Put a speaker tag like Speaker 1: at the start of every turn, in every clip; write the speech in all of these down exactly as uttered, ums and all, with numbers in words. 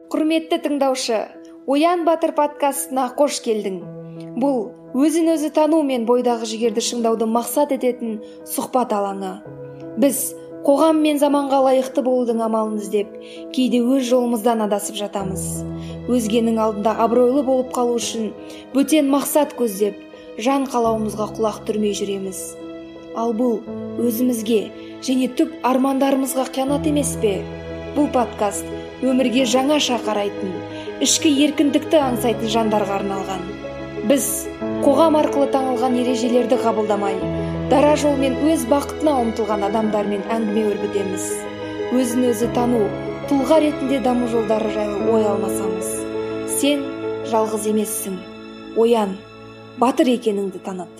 Speaker 1: Құрметті тыңдаушы, Оян Батыр подкастына қош келдің. Бұл өзін өзі тану мен бойдағы жігерді шыңдауды мақсат ететін сұхбат алаңы. Біз қоғам мен заманға лайықты болудың амалын іздеп, кейде өз жолымыздан адасып жатамыз. Өзгенің алдында абыройлы болып қалу үшін бөтен мақсат көздеп, жан қалауымызға құлақ түрмей жүреміз. Ал бұл өзімізге және түп армандарымызға қиянат емес пе? Бұл подкаст өмірге жаңаша қарайтын, ішкі еркіндікті аңсайтын жандарға арналған. Біз қоғам арқылы таңылған ережелерді қабылдамай, дара жолмен өз бақытына ұмтылған адамдармен әңгіме өрбітеміз. Өзін өзі тану, тұлға ретінде даму жолдары жайлы ой алмасамыз. Сен жалғыз емессің. Оян, батыр екеніңді таныт.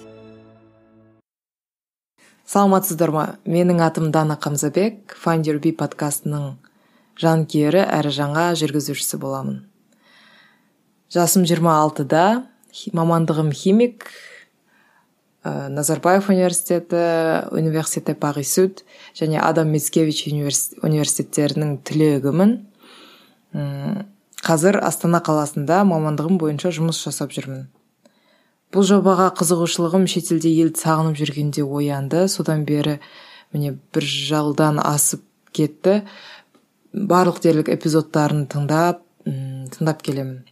Speaker 2: Саламатсыздар ма? Менің атым Дана Қамзабек, Find Your Bee подкастының жанкүйері әрі жаңа жүргізушісі боламын. Жасым жиырма алтыда, мамандығым химик, Назарбаев университеті, Университет Пари-Суд және Адам Мицкевич университеттерінің түлегімін. Қазір Астана қаласында мамандығым бойынша жұмыс жасап жүрмін. Бұл жобаға қызығушылығым шетелде елді сағынып жүргенде оянды. Содан бері міне бір жылдан асып кетті. Барлық дерлік эпизодтарын тыңдап, тыңдап келемін.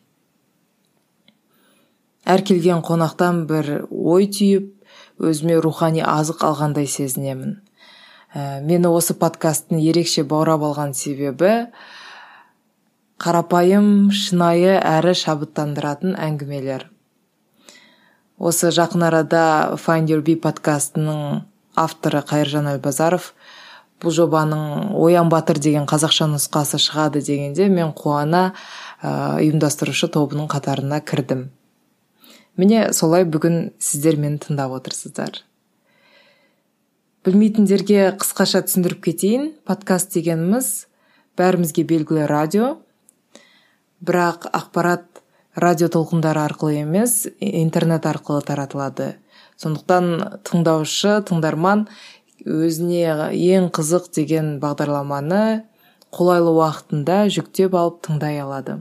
Speaker 2: Әр келген қонақтан бір ой түйіп, өзіме рухани азық алғандай сезінемін. Мені осы подкасттың ерекше баурап алған себебі қарапайым, шынайы әрі шабыттандыратын әңгімелер. Осы жақын арада Find Your Bee подкастының авторы Қайыржан Әлбазаров бұл жобаның Оян Батыр деген қазақша нұсқасы шығады дегенде мен қуана ұйымдастырушы тобының қатарына кірдім. Міне солай бүгін сіздер мені тыңдап отырсыздар. Білмейтіндерге қысқаша түсіндіріп кетейін. Подкаст дегеніміз бәрімізге белгілі радио, бірақ ақпарат радио толқындары арқылы емес, интернет арқылы таратылады. Сондықтан тыңдаушы, тыңдарман өзіне ең қызық деген бағдарламаны қолайлы уақытында жүктеп алып тыңдай алады.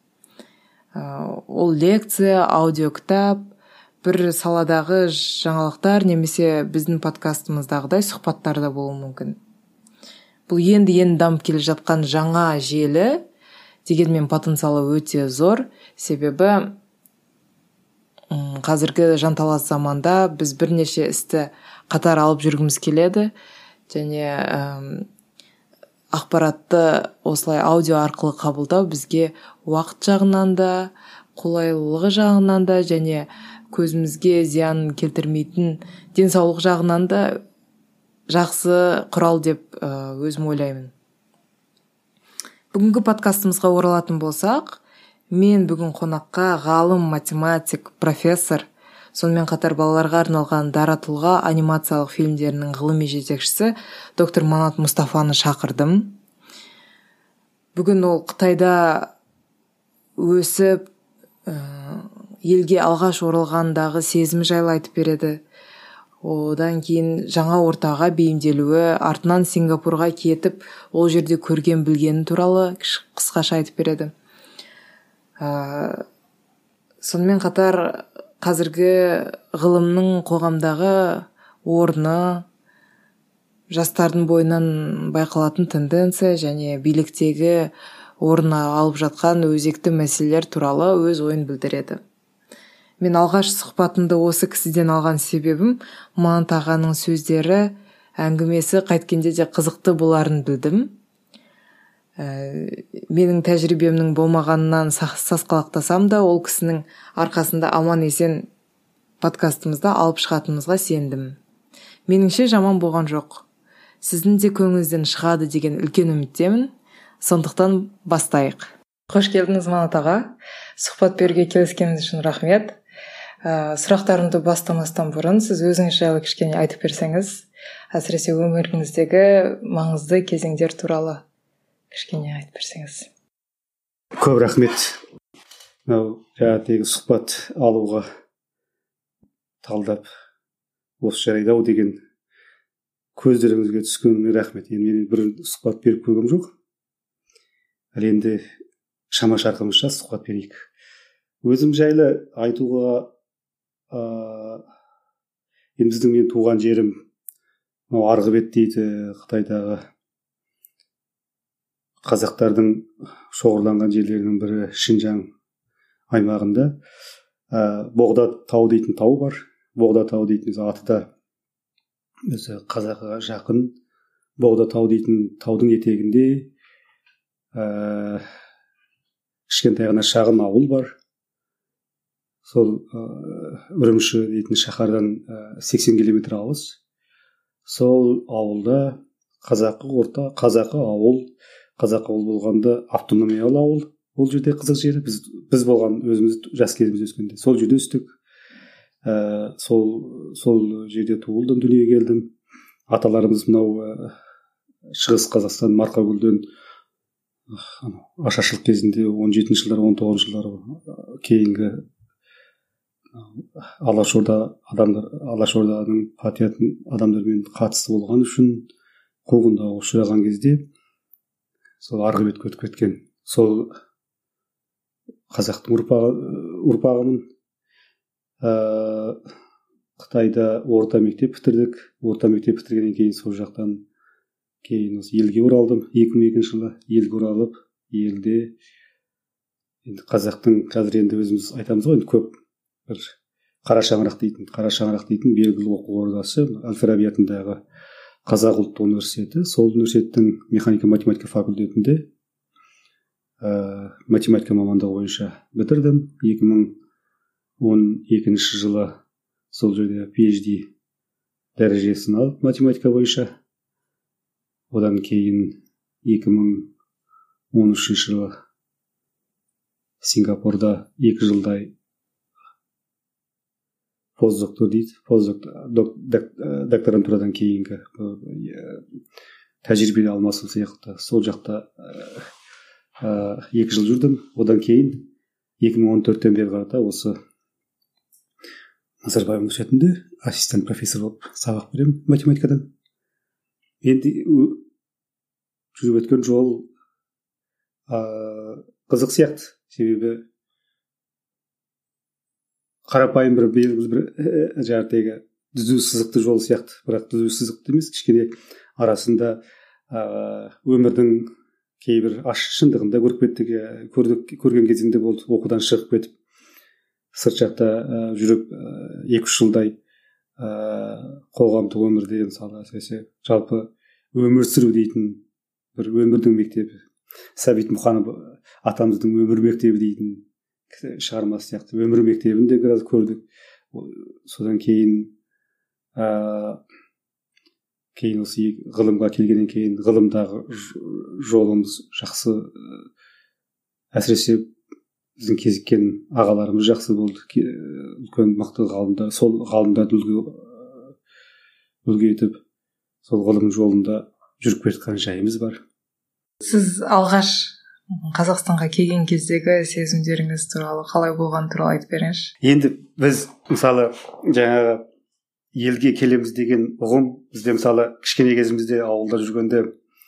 Speaker 2: Ол лекция, аудиокітап, бір саладағы жаңалықтар немесе біздің подкастымыздағыдай сұхбаттарда болуы мүмкін. Бұл енді-енді дамып келе жатқан жаңа желі, дегенмен потенциалы өте зор, себебі қазіргі жанталас заманда біз бірнеше істі қатар алып жүргіміз келеді және ақпаратты осылай аудио арқылы қабылдау бізге уақыт жағынан да, қолайлылығы жағынан да және көзімізге зиян келтірмейтін денсаулық жағынан да жақсы құрал деп өзім ойлаймын. Бүгінгі подкастымызға оралатын болсақ, мен бүгін қонаққа ғалым, математик, профессор, сонымен қатар балаларға арналған дара тұлға анимациялық фильмдерінің ғылыми жетекшісі доктор Манат Мұстафаны шақырдым. Бүгін ол Қытайда өсіп, елге алғаш оралғандағы сезімі жайлы айтып береді. Одан кейін жаңа ортаға бейімделуі, артынан Сингапурға кетіп, ол жерде көрген білгені туралы қысқаша айтып береді. Сонымен қатар қазіргі ғылымның қоғамдағы орны, жастардың бойынан байқалатын тенденция және биліктегі орны алып жатқан өзекті мәселелер туралы өз ойын білдіреді. Мен алғаш сұхбатымды осы кісіден алған себебім Манат ағаның сөздері, әңгімесі қайткенде де қызықты боларын білдім. Менің тәжірибемнің болмағанынан сасқалақтасам да, ол кісінің арқасында аман есен подкастымызда алып шығатынымызға сендім. Меніңше жаман болған жоқ. Сіздің де көңіліңізден шығады деген үлкен үміттемін. Сондықтан бастайық. Қош келдіңіз Манат аға. Сұхбат беруге келіскеніңіз үшін рахмет. Сұрақтарымды бастамастан бұрын сіз өзіңіз жайлы кішкене айтып берсеңіз, әсіресе өміріңіздегі маңызды кезеңдер туралы кішкене айтып берсеңіз.
Speaker 3: Көп рахмет. Жаңағы сұхбат алуға талдап осы жарайды-ау деген көздеріңізге түскеніңе рахмет. Енді мен бір сұхбат беріп көргем жоқ. Ал енді шама шарқымызша сұхбат берейік. Өзім жайлы айтуға ә, енді біздің мен туған жерім мынау Арғыбет дейді, Қытайдағы қазақтардың шоғырланған жерлерінің бірі Шинжаң аймағында ә, Боғда тау дейтін тау бар. Боғда тау дейтін аты да өзі қазаққа жақын. Боғда тау дейтін таудың етегінде ә, кішкентай ғана шағын ауыл бар. Сол ә, Үрімші дейтін шаһардан ә, сексен километр алыс. Сол ауылда қазақы орта, қазақы ауыл, қазақы ауыл болғанда автономиялы ауыл. Ол жерде қызық жері, біз біз болған өзіміз жас кезімізде өскенде сол жерде өстік. Ә, сол сол жерде туылдым, дүниеге келдім. Аталарымыз мынау ә, Шығыс Қазақстан Марқакөлден ашаршылық кезінде он жетінші жылдар, он тоғызыншы жылдар кейінгі Алашорда адамдар, Алашорданың патриотын адамдармен қатысты болған үшін қуғынға ұшыраған кезде сол Арғыбетке өтіп кеткен. Сол қазақтың ұрпағы, ұрпағымын. Ә, Қытайда орта мектеп бітірдік. Орта мектеп бітіргеннен кейін сол жақтан кейін осы елге оралдым. екі мың екінші жылы елге оралып, елде енді қазақтың қазір енді өзіміз айтамыз ғой, енді көп бір қара шаңырақ дейтін, қара шаңырақ дейтін белгілі оқу ордасы Әл-Фараби атындағы Қазақ ұлттық университеті. Сол университеттің механика математика факультетінде ә, математика мамандығы бойынша бітірдім. екі мың он екінші жылы сол жерде пи эйч ди дәрежесін алып математика бойынша. Одан кейін екі мың он үшінші жылы Сингапурда екі жылдай постдоктор дейді, докторантурадан кейінгі тәжірибе алмасу сияқты сол жақта ә, екі жыл жүрдім. Одан кейін екі мың он төрттен бері қарата осы Назарбаев университетінде ассистент профессор болып сабақ беремін математикадан. Енді жүріп өткен жол ә, қызық сияқты, себебі қарапайым бір белгілі бір жаңағы түзу сызықты жол сияқты, бірақ түзу сызықты емес, кішкене арасында ә, өмірдің кейбір ащы шындығын да көріп кеттік, көрдік, көрген кезімде болды. Оқудан шығып кетіп сырт жақта ә, жүріп екі үш жылдай ә, қоғамдық өмірде мысалы әсіресе жалпы өмір сүру дейтін бір өмірдің мектебі, Сәбит Мұқанов атамыздың өмір мектебі дейтін шығармасы сияқты өмір мектебінде біраз көрдік. Содан кейін ә, кейін осы ғылымға келгеннен кейін ғылымдағы жолымыз жақсы, әсіресе біздің кезіккен ағаларымыз жақсы болды. Үлкен мықты ғалымдар, сол ғалымдарды үлгі үлгі етіп сол ғылым жолында жүріп кеткен жайымыз бар.
Speaker 2: Сіз алғаш Қазақстанға келген кездегі сезімдеріңіз туралы, қалай болған туралы айтып беріңізші.
Speaker 3: Енді біз мысалы жаңағы елге келеміз деген ұғым бізде мысалы кішкене кезімізде ауылда жүргенде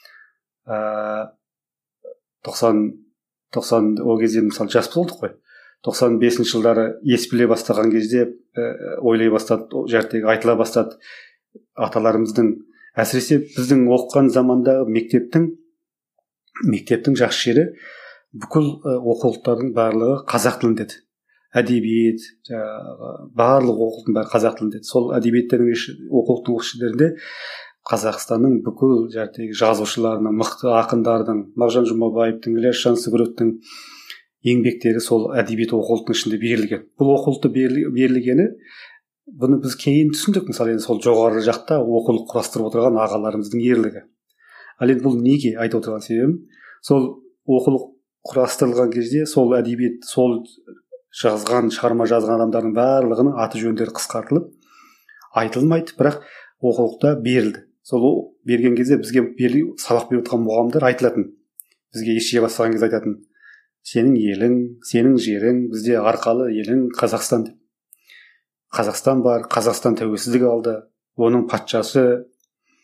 Speaker 3: ә, тоқсан тоқсан ол кезде мысалы жас болдық қой. тоқсан бесінші жылдары ес біле бастаған кезде ә, ойлай бастады, жәртегі айтыла бастады. Аталарымыздың, әсіресе біздің оқыған замандағы мектептің мектептің жақсы жері бүкіл оқулықтардың барлығы қазақ тілінде еді. Әдебиет, барлық оқулықтың бәрі қазақ тілінде еді. Сол әдебиеттердің оқулықтың іштерінде Қазақстанның бүкіл жәтегі жазушыларының, мықты ақындардың, Мағжан Жұмабаевтың, Ілияс Жансүгіровтің еңбектері сол әдебиет оқулықтың ішінде берілген. Бұл оқулықты берілгені бұны біз кейін түсіндік. Мысалы енді сол жоғары жақта оқулық құрастырып отырған ағаларымыздың ерлігі. Ал енді бұл неге айтып отырған себебім, сол оқулық құрастырылған кезде сол әдебиет, сол жазған, шығарма жазған адамдардың барлығының аты жөндері қысқартылып айтылмайды, бірақ оқулықта берілді. Сол берген кезде бізге сабақ беріп отырған мұғалімдер айтылатын. Бізге ешке бастаған кезде айтатын: сенің елің, сенің жерің, бізде арқалы елің Қазақстан деп. Қазақстан бар, Қазақстан тәуелсіздік алды, оның патшасы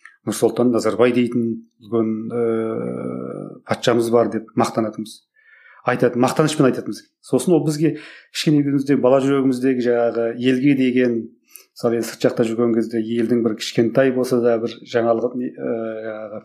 Speaker 3: Нұрсұлтан Назарбай дейтін үлкен ә, патшамыз бар деп мақтанатынбыз. айтатын, мақтанышпен айтатын бізге. Сосын ол бізге кішкене кезімізде бала жүрегіміздегі жаңағы елге деген, мысалы енді сырт жақта жүрген кезде елдің бір кішкентай болса да бір жаңалық жаңағы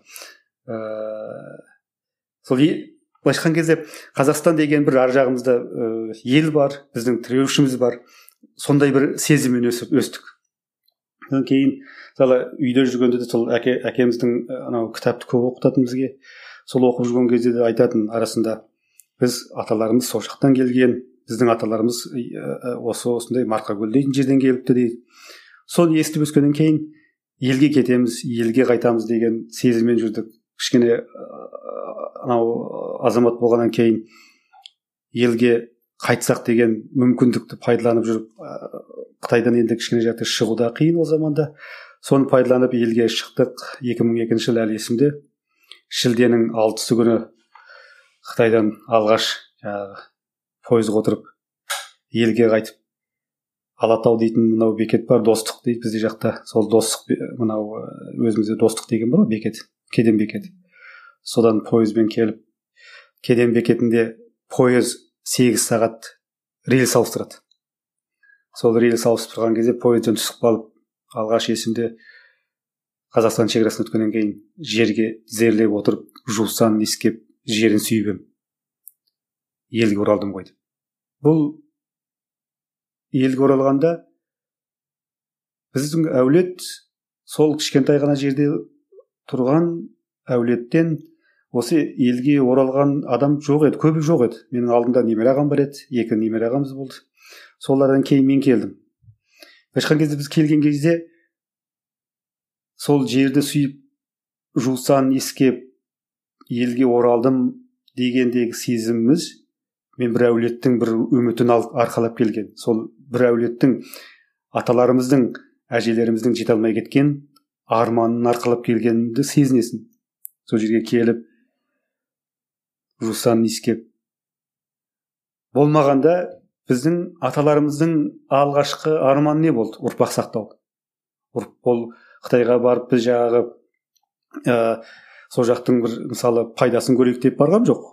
Speaker 3: ыыы сол былайша айтқан кезде Қазақстан деген бір ар жағымызда ел бар, біздің тіреушіміз бар. Сондай бір сезіммен өсіп өстік. Одан кейін мысалы үйде жүргенде де сол әке әкеміздің анау кітапты көп оқытатын бізге. Сол оқып жүрген кезде де айтатын арасында біз аталарымыз сол жақтан келген, біздің аталарымыз осы осындай Марқакөл дейтін жерден келіпті дейді. Соны естіп өскеннен кейін елге кетеміз, елге қайтамыз деген сезіммен жүрдік. Кішкене анау азамат болғаннан кейін елге қайтсақ деген мүмкіндікті пайдаланып жүріп, Қытайдан енді кішкене жақты шығуда қиын ол заманда. Соны пайдаланып елге шықтық. екі мың екінші жыл әлі есімде. Шілденің алтысы күні Қытайдан алғаш жаңағы пойызға отырып елге қайтып, Алатау дейтін мынау бекет бар, Достық дейді бізде жақта. Сол Достық, мынау өзімізде Достық деген бар бекет, кеден бекеті. Содан пойызбен келіп, кеден бекетінде пойыз сегіз сағат рельс ауыстырады. Сол рельс ауыстырып тұрған кезде пойыздан түсіп қалып, алғаш есімде Қазақстан шекарасын өткеннен кейін жерге тізерлеп отырып, жусан иіскеп, жерін сүйіп ем. Елге оралдым ғой деп. Бұл елге оралғанда біздің әулет сол кішкентай ғана жерде тұрған әулеттен осы елге оралған адам жоқ еді, көбі жоқ еді. Менің алдымда немере ағам бар еді, екі немере ағамыз болды. Солардан кейін мен келдім. Башқан кезде біз келген кезде сол жерді сүйіп, жусан иіскеп, елге оралдым дегендегі сезіміміз мен бір әулеттің бір үмітін арқалап келген. Сол бір әулеттің аталарымыздың, әжелеріміздің жете алмай кеткен арманын арқалап келгенді сезінесің. Сол жерге келіп, жусан иіскеп. Болмағанда біздің аталарымыздың алғашқы арманы не болды? Ұрпақ сақтау. Ол Қытайға барып біз жаңағы ә, сол жақтың бір мысалы пайдасын көрейік деп барған жоқ.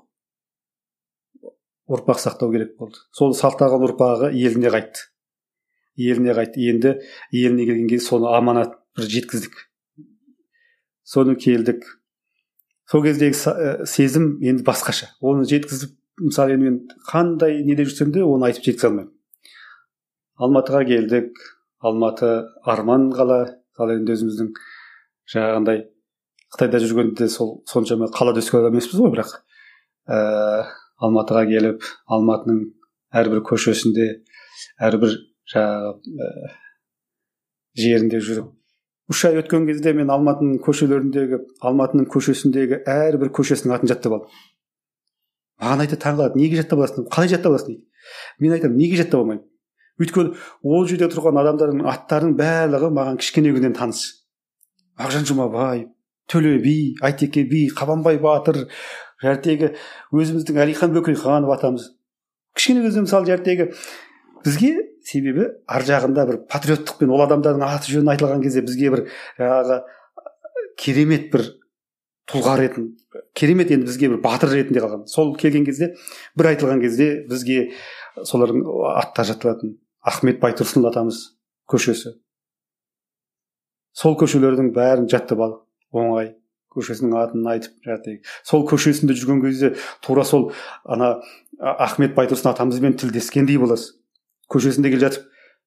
Speaker 3: Ұрпақ сақтау керек болды. Сол сақтаған ұрпағы еліне қайтты. Еліне қайтты. Енді еліне келген кезде соны аманат бір жеткіздік. Соны келдік. Сол кездегі сезім енді басқаша. Оны жеткізіп, мысалы енді мен қандай неде жүрсем де оны айтып жеткізе алмаймын. Алматыға келдік. Алматы арман қала. Мысалы енді өзіміздің жаңағындай Қытайда жүргенде сол соншама қалада өскен адам емеспіз ғой, бірақ ә, Алматыға келіп, Алматының әрбір көшесінде, әрбір жаңағы ә, жерінде жүріп, үш ай өткен кезде мен Алматының көшелеріндегі, Алматының көшесіндегі әрбір көшесінің атын жаттап алдым. Маған айтады, таңғалады, неге жаттап аласың? Қалай жаттап аласың дейді. Мен айтамын, неге жаттап алмаймын? Өйткені ол жерде тұрған адамдардың аттарының барлығы маған кішкене күннен таныс. Мағжан Жұмабай, Төле би, Айтеке би, Қабанбай батыр, жәртегі өзіміздің Әлихан Бөкейханов атамыз. Кішкене кезде мысалы жәртегі бізге себебі ар жағында бір патриоттықпен ол адамдардың аты жөні айтылған кезде бізге бір жаңағы керемет бір тұлға ретінде, керемет енді бізге бір батыр ретінде қалған. Сол келген кезде бір айтылған кезде бізге солардың аттары жатталатын. Ахмет Байтұрсынұлы атамыз көшесі. Сол көшелердің бәрін жаттап алдық. Оңай көшесінің атын айтып жаттық. Сол көшесінде жүрген кезде тура сол ана Ахмет Байтұрсын атамызбен тілдескендей боласыз. Көшесінде келе жатып,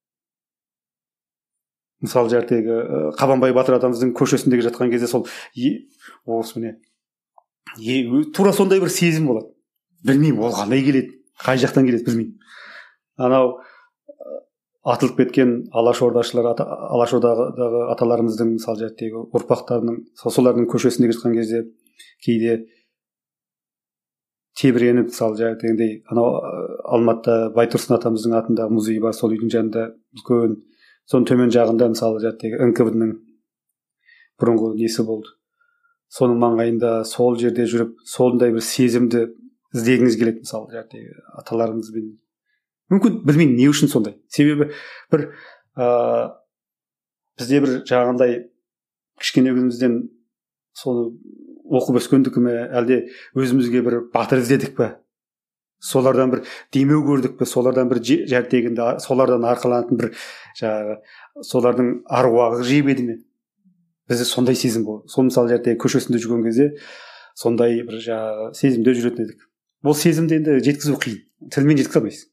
Speaker 3: мысалы жәртегі Қабанбай батыр атамыздың көшесінде келе жатқан кезде сол осы міне тура сондай бір сезім болады. Білмеймін, ол қандай келеді, қай жақтан келеді білмеймін. Анау атылып кеткен алашордашылар, алашордадағы аталарымыздың мысалы жәртегі ұрпақтарының солардың көшесінде кеткен кезде кейде тебіреніп, мысалы жәртегіндей анау Алматыда Байтұрсын атамыздың атында музей бар, сол үйдің жанында үлкен, соның төмен жағында мысалы жәртегі эн ка вэ дың бұрынғы несі болды. Соның маңайында сол жерде жүріп, сондай бір сезімді іздегіңіз келеді, мысалы жәртегі аталарымызбен. Мүмкін білмеймін не үшін сондай. Себебі бір ә, бізде бір жаңағындай кішкене күнімізден соны оқып өскендікі ме, әлде өзімізге бір батыр іздедік пе? солардан бір демеу көрдік пе, солардан бір жәртегінде солардан арқаланатын бір жаңағы солардың аруағы жебеді ме, бізде сондай сезім болды. Сол мысалы жәртегі көшесінде жүрген кезде сондай бір жаңағы сезімде жүретін едік. Бұл сезімді енді жеткізу қиын, тілмен жеткізе алмайсыз.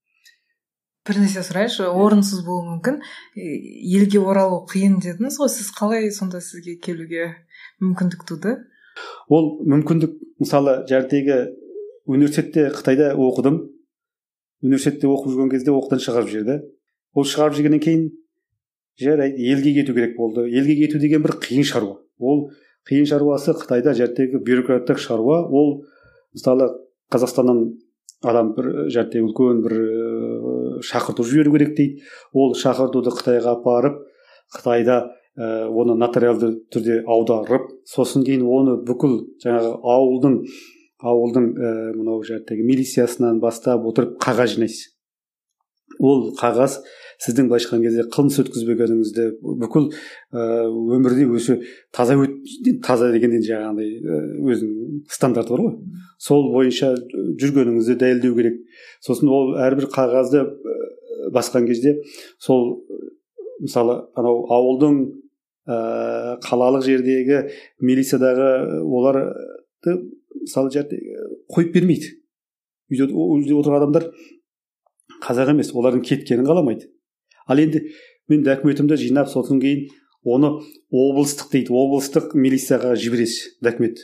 Speaker 2: Бір нәрсе сұрайыншы, орынсыз болуы мүмкін, елге оралу қиын дедіңіз ғой, сіз қалай сонда сізге келуге мүмкіндік туды?
Speaker 3: Ол мүмкіндік, мысалы жәртегі университетте Қытайда оқыдым. Университетте оқып жүрген кезде оқудан шығарып жіберді. Ол шығарып жүргеннен кейін жарайды, елге кету керек болды. Елге кету деген бір қиын шаруа. Ол қиын шаруасы Қытайда жәртегі бюрократтық шаруа. Ол мысалы Қазақстаннан адам бір жәртегі үлкен бір шақырту жіберу керек дейді. Ол шақыртуды Қытайға апарып, Қытайда ә, оны нотариалды түрде аударып, сосын кейін оны бүкіл жаңағы ауылдың ауылдың ә, мынау жәртегі милициясынан бастап отырып қағаз жинайсыз. Ол қағаз сіздің былайша айтқан кезде қылмыс өткізбегеніңізді, бүкіл ә, өмірде өзі таза өт таза дегенде жаңағындай өзінің стандарты бар ғой. Сол бойынша жүргеніңізді дәлелдеу керек. Сосын ол әрбір қағазды басқан кезде сол мысалы анау ауылдың ә, қалалық жердегі милициядағы оларды мысалы қойып бермейді. Үйде, үйде отырған адамдар қазақ емес, олардың кеткенін қаламайды. Ал енді мен документімді жинап, сосын кейін оны облыстық дейді, облыстық милицияға жібересіз документ.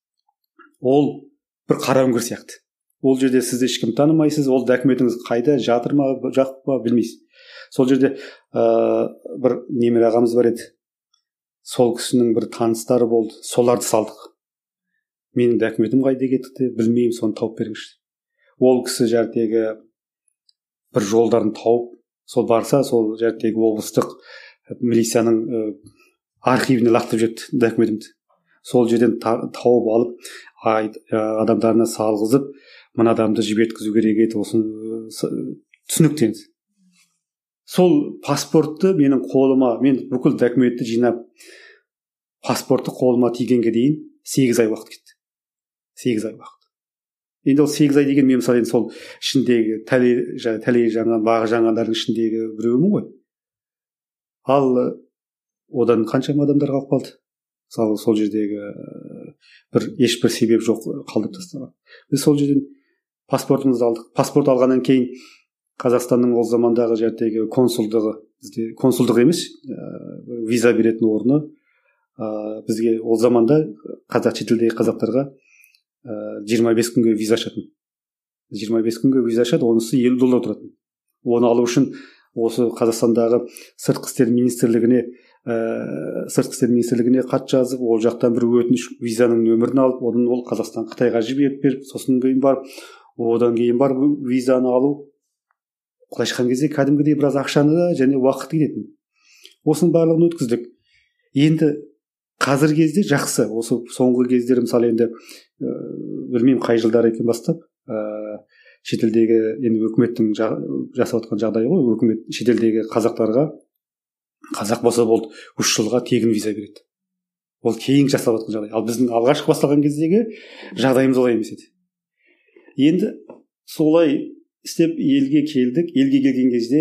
Speaker 3: Ол бір қара үңгір сияқты. Ол жерде сізді ешкім танымайсыз, ол документіңіз қайда жатыр ма, жоқ па білмейсіз. Сол жерде ә, бір немере ағамыз бар еді. Сол кісінің бір таныстары болды, соларды салдық. Менің документім қайда кетті, білмеймін, соны тауып беріңізші. Ол кісі жәртегі бір жолдарын тауып, сол барса, сол жәртегі облыстық милицияның ә, архивіне лақтырып жетті документімді. Сол жерден тауып алып, ай, адамдарына салғызып, мына адамды жіберткізу керек еді, осыны түсініктенді. Сол паспортты менің қолыма, мен бүкіл документті жинап, паспортты қолыма тигенге дейін сегіз ай уақыт кетті. сегіз ай уақыт. Енді ол сегіз ай деген мен мысалы сол ішіндегі тәле тәле жаңа бағы жаңалардың ішіндегі біреуімін ғой. Ал одан қаншама адамдар қалып қалды. Мысалы сол жердегі бір ешбір себеп жоқ қалдырып тастаған. Біз сол жерден паспортымызды алдық. Паспорт алғаннан кейін Қазақстанның ол замандағы жәртегі консулдығы, бізде консулдық емес, ә, виза беретін орны, ә, бізге ол заманда қазақ шетелдегі қазақтарға жиырма бес күнге виза ашатын. жиырма бес күнге виза ашады, онысы елу доллар тұратын. Оны алу үшін осы Қазақстандағы сыртқы істер министрлігіне ә, сыртқы істер министрлігіне хат жазып, ол жақтан бір өтініш визаның нөмірін алып, одан ол Қазақстан Қытайға жіберіп беріп, сосын кейін барып, одан кейін барып визаны алу. Құлай шыққан кезде кәдімгідей біраз ақшаны да және уақыт кететін. Осының барлығын өткіздік. Енді қазір кезде жақсы. Осы соңғы кездері мысалы енді ә, білмеймін қай жылдар екен бастап ә, шетелдегі енді өкіметтің жасап отқан жағдайы ғой. Өкімет шетелдегі қазақтарға қазақ болса болды үш жылға тегін виза береді. Ол кейін жасап отқан жағдай. Ал біздің алғашқы басталған кездегі жағдайымыз олай емес еді. Енді солай істеп елге келдік. Елге келген кезде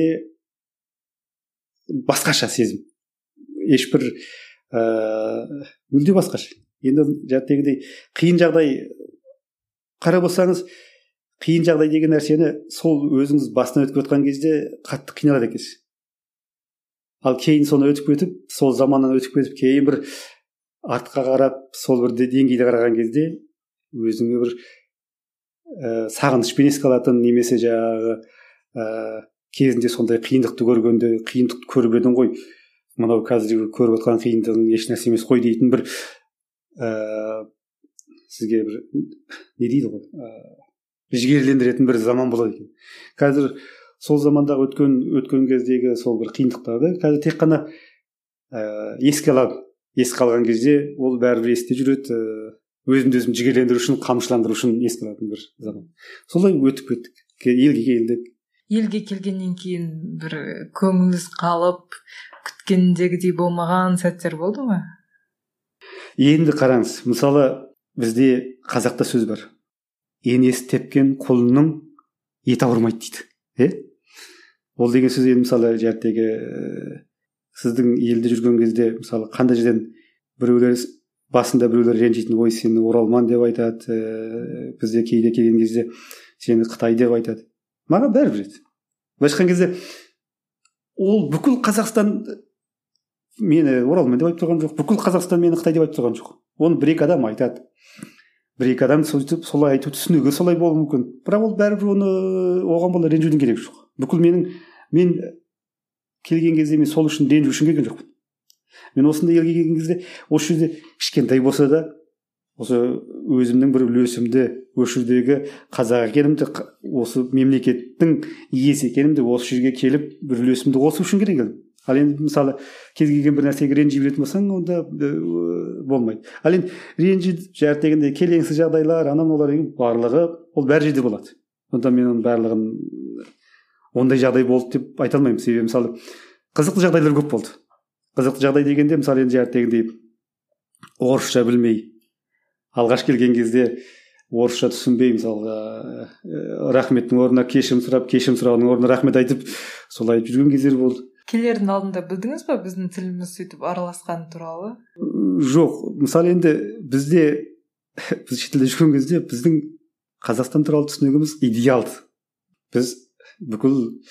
Speaker 3: басқаша сезім. Ешбір ә, мүлде басқаша. Енді жәттегідей қиын жағдай қарап болсаңыз, қиын жағдай деген нәрсені сол өзіңіз бастан өтіп өткен кезде қатты қиналады екенсіз. Ал кейін соны өтіп кетіп, сол заманнан өтіп кетіп, кейін бір артқа қарап, сол бір деңгейде қараған кезде өзіңе бір ә, сағынышпен еске алатын, немесе жаңағы ә, кезінде сондай қиындықты көргенде, қиындықты көріп едің ғой, мынау қазір көріп отқан қиындығың еш нәрсе емес қой дейтін бір ә, сізге бір не дейді ғой, ә, жігерлендіретін бір заман болады екен. Қазір сол замандағы өткен өткен кездегі сол бір қиындықтарды қазір тек қана ә, еске алады. Еске алған кезде ол бәрібір есте жүреді. Өзімді өзім жігерлендіру үшін, қамшыландыру үшін еске алатын бір заман. Солай өтіп кеттік. Елге келдік.
Speaker 2: Елге келгеннен кейін бір көңіліңіз қалып, күткендегідей болмаған сәттер болды ма?
Speaker 3: Енді қараңыз, мысалы бізде қазақта сөз бар. енесі тепкен құлынның еті ауырмайды дейді. Е? Ол деген сөз енді мысалы жәттегі сіздің елде жүрген кезде мысалы қандай жерден біреулер басында біреулер ренжитін, ой сені оралман деп айтады, ә, бізде кейде келген кезде сені Қытай деп айтады. Маған бәрібір еді. Былайша айтқан кезде ол бүкіл Қазақстан мені оралман деп айтып тұрған жоқ, бүкіл Қазақстан мені Қытай деп айтып тұрған жоқ. Оны бір екі адам айтады. Бір екі адам сөйтіп солай айту түсінігі солай болуы мүмкін. Бірақ ол бәрібір оны оған бола ренжудің керегі жоқ. Бүкіл менің мен келген кезде мен сол үшін ренжу үшін келген жоқпын. Мен осындай елге келген кезде осы жерде кішкентай болса да осы өзімнің бір үлесімді осы жердегі қазақ екенімді, осы мемлекеттің иесі екенімді осы жерге келіп бір үлесімді қосу үшін келген. Ал енді мысалы кез келген бір нәрсеге ренжи беретін болсаң, онда болмайды. Ал енді ренжи дегенде келеңсіз жағдайлар, анау мыналар деген барлығы ол бәр жерде болады. Онда мен оның барлығын ондай жағдай болды деп айта алмаймын. Себебі мысалы қызықты жағдайлар көп болды. Қызықты жағдай дегенде мысалы енді дегендей орысша білмей алғаш келген кезде орысша түсінбей мысалға рахметтің орнына кешірім сұрап, кешірім сұрағының орнына рахмет айтып солай жүрген кездер болды.
Speaker 2: Келердің алдында білдіңіз ба біздің тіліміз сөйтіп араласқаны туралы?
Speaker 3: Жоқ, мысалы енді бізде біз шетелде жүрген кезде біздің Қазақстан туралы түсінігіміз идеалды. Біз бүкіл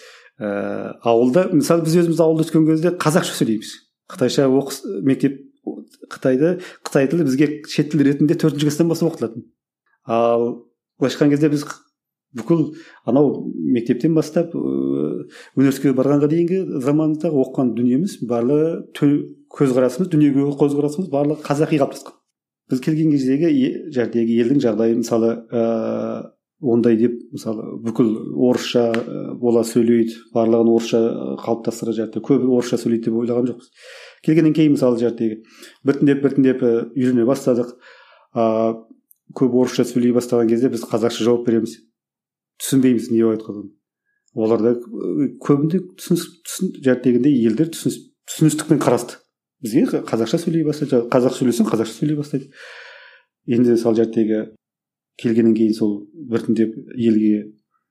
Speaker 3: ә, ауылда, мысалы біз өзіміз ауылда өскен кезде қазақша сөйлейміз. Қытайша оқыс мектеп Қытайды Қытай тілі бізге шет тіл ретінде төртінші класстан бастап оқытылатын. Ал былайша айтқан кезде біз бүкіл анау мектептен бастап университетке барғанға дейінгі заманда оқыған дүниеміз барлығы көзқарасымыз, дүниеге көзқарасымыз барлығы қазақи қалыптасқан. Біз келген кездегі жердегі елдің жағдайы мысалы ә, ондай деп мысалы бүкіл орысша бола сөйлейді, барлығын орысша қалыптастыра жерде көбі орысша сөйлейді деп ойлаған жоқпыз. Келгеннен кейін мысалы жердегі біртіндеп біртіндеп үйрене бастадық. Ә, көп орысша сөйлей бастаған кезде біз қазақша жауап береміз. Түсінбейміз не айтқанын. Оларда көбінде түсін дегенде елдер түсіністікпен қарасты. Бізге қазақша сөйлей бастайды, қазақ сөйлесең қазақша сөйлей бастайды. Енді сол жердегі келгеннен кейін сол біртіндеп елге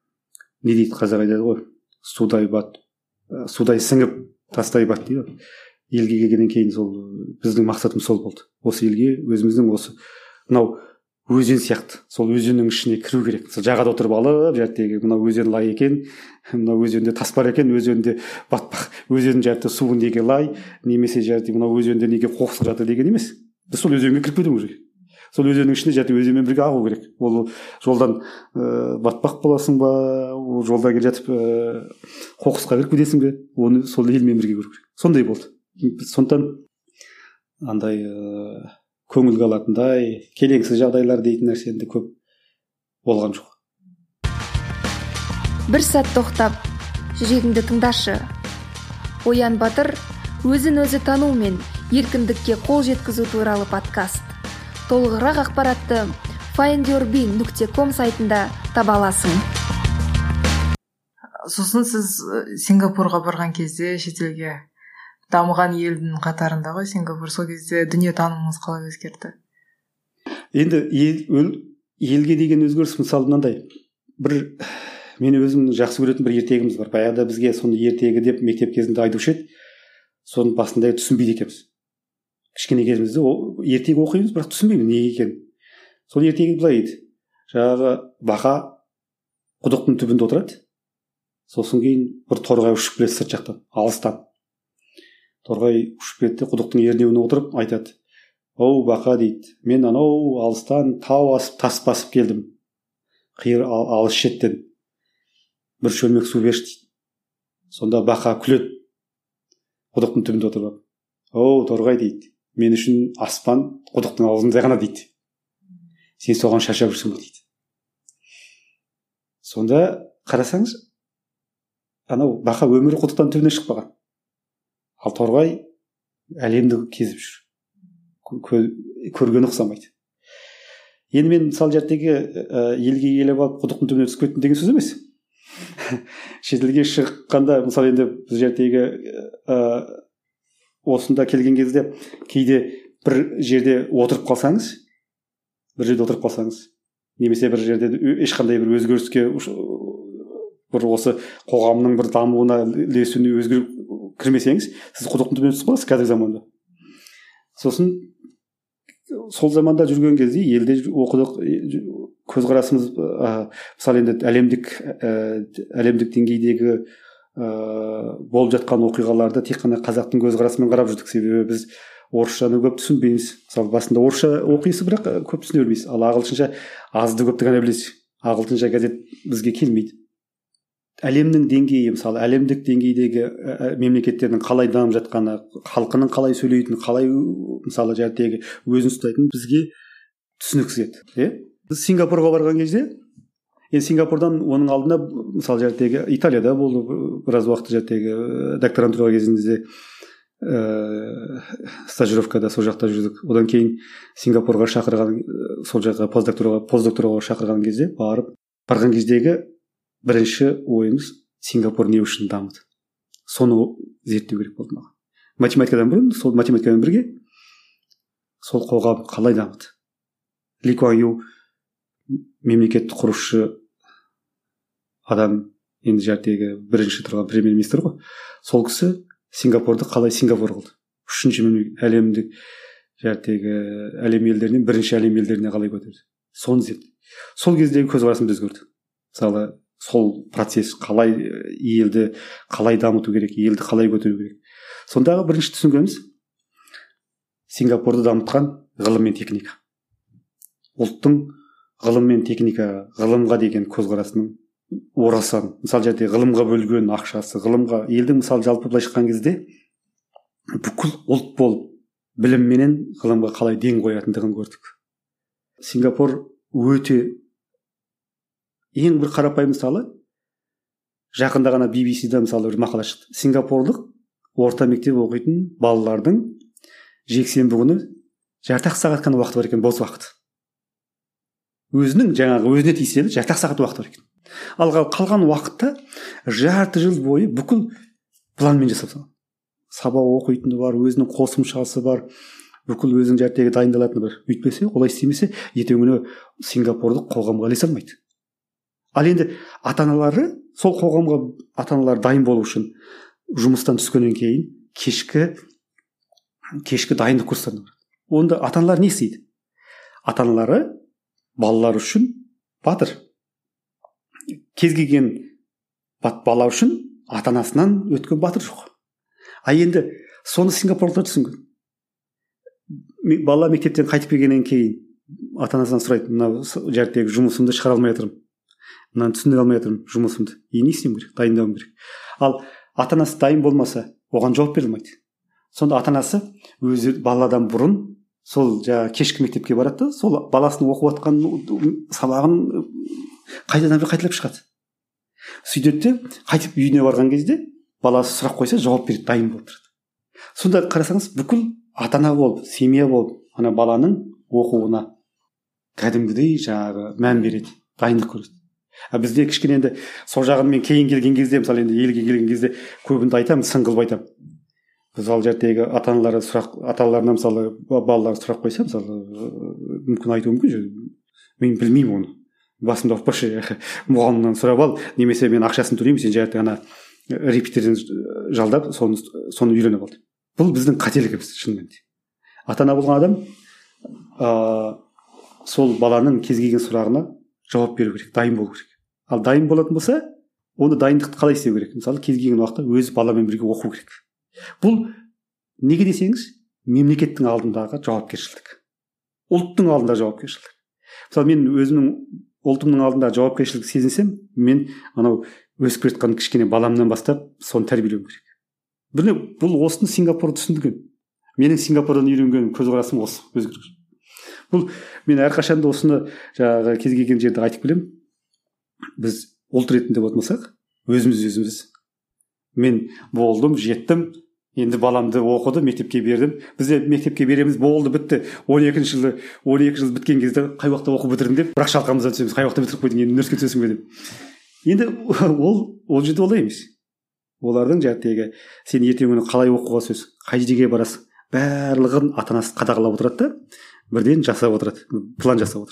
Speaker 3: не дейді қазақ айтады ғой, судай бат, судай сіңіп тастай бат дейді. Елге келгеннен кейін сол біздің мақсатымыз сол болды. Осы елге өзіміздің осы мынау өзен сияқты, сол өзеннің ішіне кіру керек. Сол жағада отырып алып, жердегі мына өзен лай екен, мына өзенде тас бар екен, өзенде батпақ, өзен жерде суы неге лай, немесе жерде мына өзенде неге қоқыс жатыр деген емес. Біз сол өзенге кіріп кетуіміз керек. Сол өзеннің ішіне жерде өзенмен бірге ағу керек. Ол жолдан ә, батпақ боласың ба, ол жолда келе жатып ә, қоқысқа кіріп кетесің бе, оны сол елмен бірге көру керек. Сондай болды. Сондықтан андай ә, көңілге алатындай келеңсіз жағдайлар дейтін нәрсе енді көп болған жоқ.
Speaker 1: Бір сәт тоқтап, жүрегіңді тыңдашы. Оян Батыр өзін өзі тану мен еркіндікке қол жеткізу туралы подкаст. Толығырақ ақпаратты файнд юр би нүкте ком сайтында таба аласың.
Speaker 2: Сосын сіз Сингапурға барған кезде шетелге дамыған елдің қатарында ғой Сингапур, сол кезде дүние танымыңыз қалай өзгерді?
Speaker 3: Енді ел, елге деген өзгеріс мысалы мынандай. Бір мен өзім жақсы көретін бір ертегіміз бар. Баяғыда бізге соны ертегі деп мектеп кезінде айтушы еді. Соның басында түсінбейді екенбіз. Кішкене кезімізде ертегі оқимыз, бірақ түсінбейміз неге екенін. Сол ертегі былай еді. Жаңағы бақа құдықтың түбінде отырады. Сосын кейін бір торғай ұшып келеді сырт жақтан, алыстан. Торғай ұшып кетті, құдықтың ернеуіне отырып айтады: "Оу бақа," дейді, "мен анау алыстан тау асып тас басып келдім. Қиыр алыс шеттен. Бір шөлмек су берші," дейді. Сонда бақа күледі. Құдықтың түбінде отырып: "Оу торғай," дейді, "мен үшін аспан құдықтың аузында ғана," дейді. "Сен соған шаршап жүрсің бе," дейді. Сонда қарасаңыз, анау бақа өмірі құдықтан түбіне шықпаған. Ал торғай әлемді кезіп жүр. Көргені ұқсамайды. Енді мен мысалы жердегі елге келіп алып құдықтың түбіне түсіп кеттім деген сөз емес. Шетелге шыққанда мысалы енді біз жердегі осында келген кезде кейде бір жерде отырып қалсаңыз, бір жерде отырып қалсаңыз, немесе бір жерде ешқандай бір өзгеріске бір осы қоғамның бір дамуына ілесуіне өзгеріп кірмесеңіз сіз құдықтың түбіне түсіп қаласыз қазіргі заманда. Сосын сол заманда жүрген кезде елде оқыдық, көзқарасымыз мысалы енді әлемдік әлемдік деңгейдегі болып жатқан оқиғаларды тек қана қазақтың көзқарасымен қарап жүрдік. Себебі біз орысшаны көп түсінбейміз. Мысалы басында орысша оқисыз, бірақ көп түсіне бермейсіз. Ал ағылшынша азды көпті ғана білесіз. ағылшынша газет бізге келмейді. Әлемнің деңгейі, мысалы әлемдік деңгейдегі мемлекеттердің қалай дамып жатқаны, халқының қалай сөйлейтіні, қалай мысалы жәдегі өзін ұстайтыны бізге түсініксіз еді. Иә? Біз Сингапурға барған кезде, енді Сингапурдан оның алдында мысалы жәдегі Италияда болды біраз уақыт жәдегі докторантура кезінде ә, стажировкада сол жақта жүрдік. Одан кейін Сингапурға шақырған, сол жаққа постдокторға постдокторға шақырған кезде барып барған кездегі бірінші ойымыз Сингапур не үшін дамыды. Соны зерттеу керек болды маған. Математикадан бұрын, сол математикамен бірге сол қоғам қалай дамыды. Ли Куан Ю мемлекетті құрушы адам, енді жәрдегі бірінші тұрған премьер-министр ғой. Сол кісі Сингапурды қалай Сингапур қылды. Үшінші әлемдік жәрдегі әлем елдерінен бірінші әлем елдеріне қалай көтерді. Соны зерттеді. Сол кездегі көзқарасымды өзгерді. Мысалы сол процесс қалай елді қалай дамыту керек, елді қалай көтеру керек. Сондағы бірінші түсінгеніміз Сингапурды дамытқан ғылым мен техника. Ұлттың ғылым мен техника, ғылымға деген көзқарасының орасан. Мысалы жерде ғылымға бөлген ақшасы, ғылымға елдің мысалы жалпы былай шыққан кезде бүкіл ұлт болып білімменен ғылымға қалай ден қоятындығын көрдік. Сингапур өте ең бір қарапайым мысалы жақында ғана би би си-да мысалы бір мақала шықты. Сингапурлық орта мектеп оқитын балалардың жексенбі күні жарты сағат қана уақыты бар екен, бос уақыт. Өзінің жаңағы өзіне тиесілі жарты сағат уақыты бар екен. Ал қалған уақытта жарты жыл бойы бүкіл планмен жасап салған. Сабақ оқитыны бар, өзінің қосымшасы бар, бүкіл өзінің жәртегі дайындалатыны бар. Өйтпесе, олай істемесе, ертеңгі күні Сингапурлық қоғамға ілесе алмайды. Ал енді ата-аналары, сол қоғамға ата-аналар дайын болу үшін жұмыстан түскеннен кейін кешкі кешкі дайындық курстарына барады. Онда ата-аналар не істейді? Ата-аналары балалар үшін батыр. Кез келген бала үшін ата-анасынан өткен батыр жоқ. А енді соны Сингапурлықтар түсінген. Бала мектептен қайтып келгеннен кейін ата-анасынан сұрайды: "Мына жәрдегі жұмысымды шығара алмай жатырмын. Мынаны түсіндіре алмай жатырмын жұмысымды. И не істеуім керек? Дайындауым керек." Ал ата-анасы дайын болмаса, оған жауап бере алмайды. Сонда ата-анасы өзі баладан бұрын сол жаңа кешкі мектепке барады да, сол баласының оқып жатқан сабағын қайтадан бір қайталап шығады. Сөйтеді де қайтып үйіне барған кезде баласы сұрақ қойса жауап береді, дайын болып тұрады. Сонда қарасаңыз, бүкіл ата-ана болып, семья болып, ана баланың оқуына кәдімгідей жаңағы мән береді, дайындық көреді. А бізде кішкене енді сол жағын мен кейін келген кезде, мысалы енді елге келген кезде көбінді айтамын, сын қылып айтамын. Біз ал жәрдегі ата-аналары сұрақ, ата-аналарына мысалы балалар сұрақ қойса, мысалы мүмкін айтуы мүмкін, мен білмеймін оны. Басымда ұқпашы, мұғалімнен сұрап ал, немесе мен ақшасын төлеймін, сен жәрдегі ана репетиторден жалдап, соны соны үйреніп алды. Бұл біздің қателігіміз шынымен де. Ата-ана болған адам ә, сол баланың кез келген сұрағына жауап беру керек, дайын болу керек. Ал дайын болатын болса, оны дайындықты қалай істеу керек? Мысалы кез келген уақытта өз баламен бірге оқу керек. Бұл неге десеңіз, мемлекеттің алдындағы жауапкершілік. Ұлттың алдында жауапкершілік. Мысалы мен өзімнің ұлтымның алдында жауапкершілік сезінсем, мен анау өсіп келе жатқан кішкене баламнан бастап соны тәрбиелеуім керек. Бірне бұл осыны Сингапурда түсіндірген. Менің Сингапурдан үйренген көзқарасым осы өзгерген. Бұл мен әрқашанда осыны жаңағы кез келген жерде айтып келемін. Біз ұлт ретінде болмасақ, өзіміз өзіміз. Мен болдым, жеттім, енді баламды оқыды, мектепке бердім. Бізде мектепке береміз, болды, бітті. он екінші жылы, он екі жыл біткен кезде қай уақытта оқып бітірдім деп, бірақ шалқамыздан түсеміз. Қай уақытта бітіріп қойдың, енді университетке түсесің бе деп. Енді ол ол жерде олай емес. Олардың жәрдегі сен ертеңгі күні қалай оқуға түсесің, қай жерге барасың, барлығын ата-анасы қадағалап отырады да, бірден жасап отырады, план жасап отырады.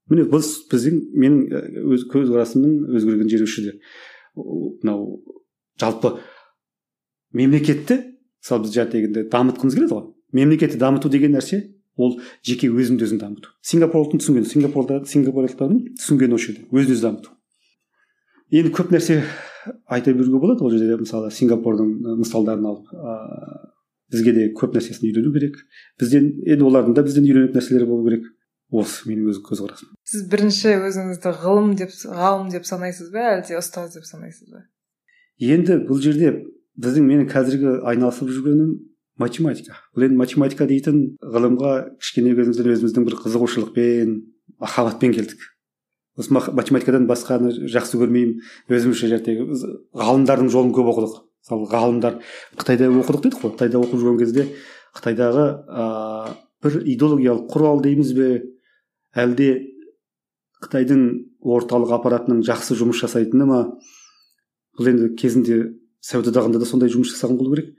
Speaker 3: міне бұл біздің менің өз көзқарасымның өзгерген жері осы жерде. Мынау жалпы мемлекетті мысалы біз дегенде дамытқымыз келеді ғой. Мемлекетті дамыту деген нәрсе ол жеке өзіңді өзің дамыту. Сингапурлықтың түсінген, Сингапурда сингапурлықтардың түсінген осы жерде өзін өзі дамыту. Енді көп нәрсе айта беруге болады ол жерде. Мысалы Сингапурдың мысалдарын алып, ә, бізге де көп нәрсесін үйрену керек. Бізден енді олардың да бізден үйренетін нәрселері болу керек. Осы менің өз көзқарасым.
Speaker 2: Сіз бірінші өзіңізді ғылым деп, ғалым деп санайсыз ба, әлде ұстаз деп санайсыз ба?
Speaker 3: Енді бұл жерде біздің менің қазіргі айналысып жүргенім математика. Бұл енді математика дейтін ғылымға кішкене кезімізден өзіміздің бір қызығушылықпен, махаббатпен келдік. Осы математикадан басқаны жақсы көрмеймін. Өзімізше жәттегі ғалымдардың жолын көп оқыдық. Мысалы ғалымдар Қытайда оқыдық дедік қой. Қытайда оқып жүрген кезде Қытайдағы ә, бір идеологиялық құрал дейміз бе, әлде Қытайдың орталық аппаратының жақсы жұмыс жасайтыны ма? Бұл енді кезінде Совет одағында да сондай жұмыс жасаған болу керек.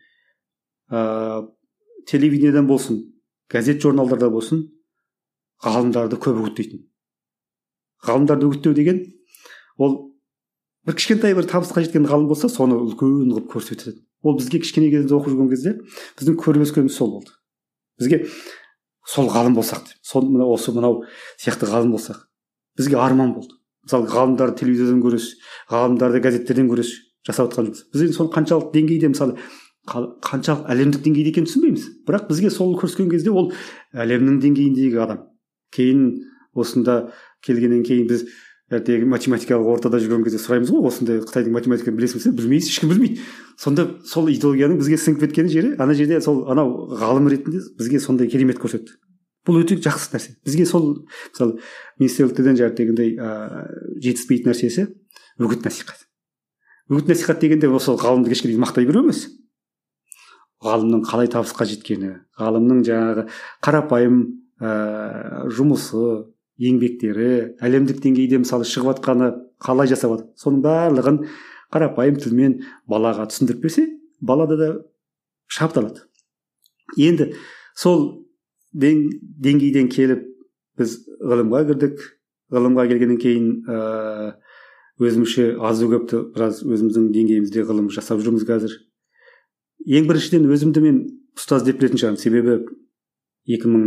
Speaker 3: Ә, телевидениедан болсын, газет журналдарда болсын, ғалымдарды көп үгіттейтін. Ғалымдарды үгіттеу деген ол бір кішкентай бір табысқа жеткен ғалым болса, соны үлкен қылып көрсетеді. Ол бізге кішкене кезімізде оқып жүрген кезде біздің көріп өскеніміз сол болды. Бізге сол ғалым болсақ деп, сол мынау осы мынау сияқты ғалым болсақ, бізге арман болды. Мысалы ғалымдарды телевизордан көресіз, ғалымдарды газеттерден көресіз, жасап жатқан жұмыс. Біз енді соны қаншалық деңгейде, мысалы қаншалық әлемдік деңгейде екенін түсінбейміз. Бірақ бізге сол көрсеткен кезде ол әлемнің деңгейіндегі адам. Кейін осында келгеннен кейін біз ертегі математикалық ортада жүрген кезде сұраймыз ғой, осындай Қытайдың математиканы білесің бе? Білмейсіз, ешкім білмейді. Сонда сол идеологияның бізге сіңіп кеткен жері, ана жерде сол анау ғалым ретінде бізге сондай керемет көрсетті. Бұл өте жақсы нәрсе. Бізге сол мысалы министрліктен дегендей жетіспейтін нәрсесі үгіт насихат. Үгіт насихат дегенде осы ғалымды кешке мақтай беру емес. Ғалымның қалай табысқа жеткені, ғалымның жаңағы қарапайым ә, жұмысы, еңбектері, әлемдік деңгейде мысалы шығып жатқаны қалай жасап жатыр, соның барлығын қарапайым тілмен балаға түсіндіріп берсе, балада да шабытталады. Енді сол деңгейден келіп біз ғылымға кірдік. Ғылымға келгеннен кейін ә, өзімізше азы көпті біраз өзіміздің деңгейімізде ғылым жасап жүрміз қазір. Ең біріншіден өзімді мен ұстаз деп білетін шығармын. Себебі екі мың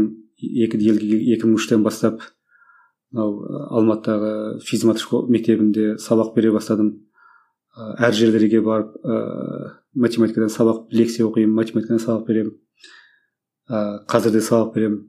Speaker 3: үштен бастап мынау Алматыдағы физмат мектебінде сабақ бере бастадым. Әр жерлерге барып ә, математикадан сабақ, лекция оқимын, математикадан сабақ беремін. Ә, қазір де сабақ беремін.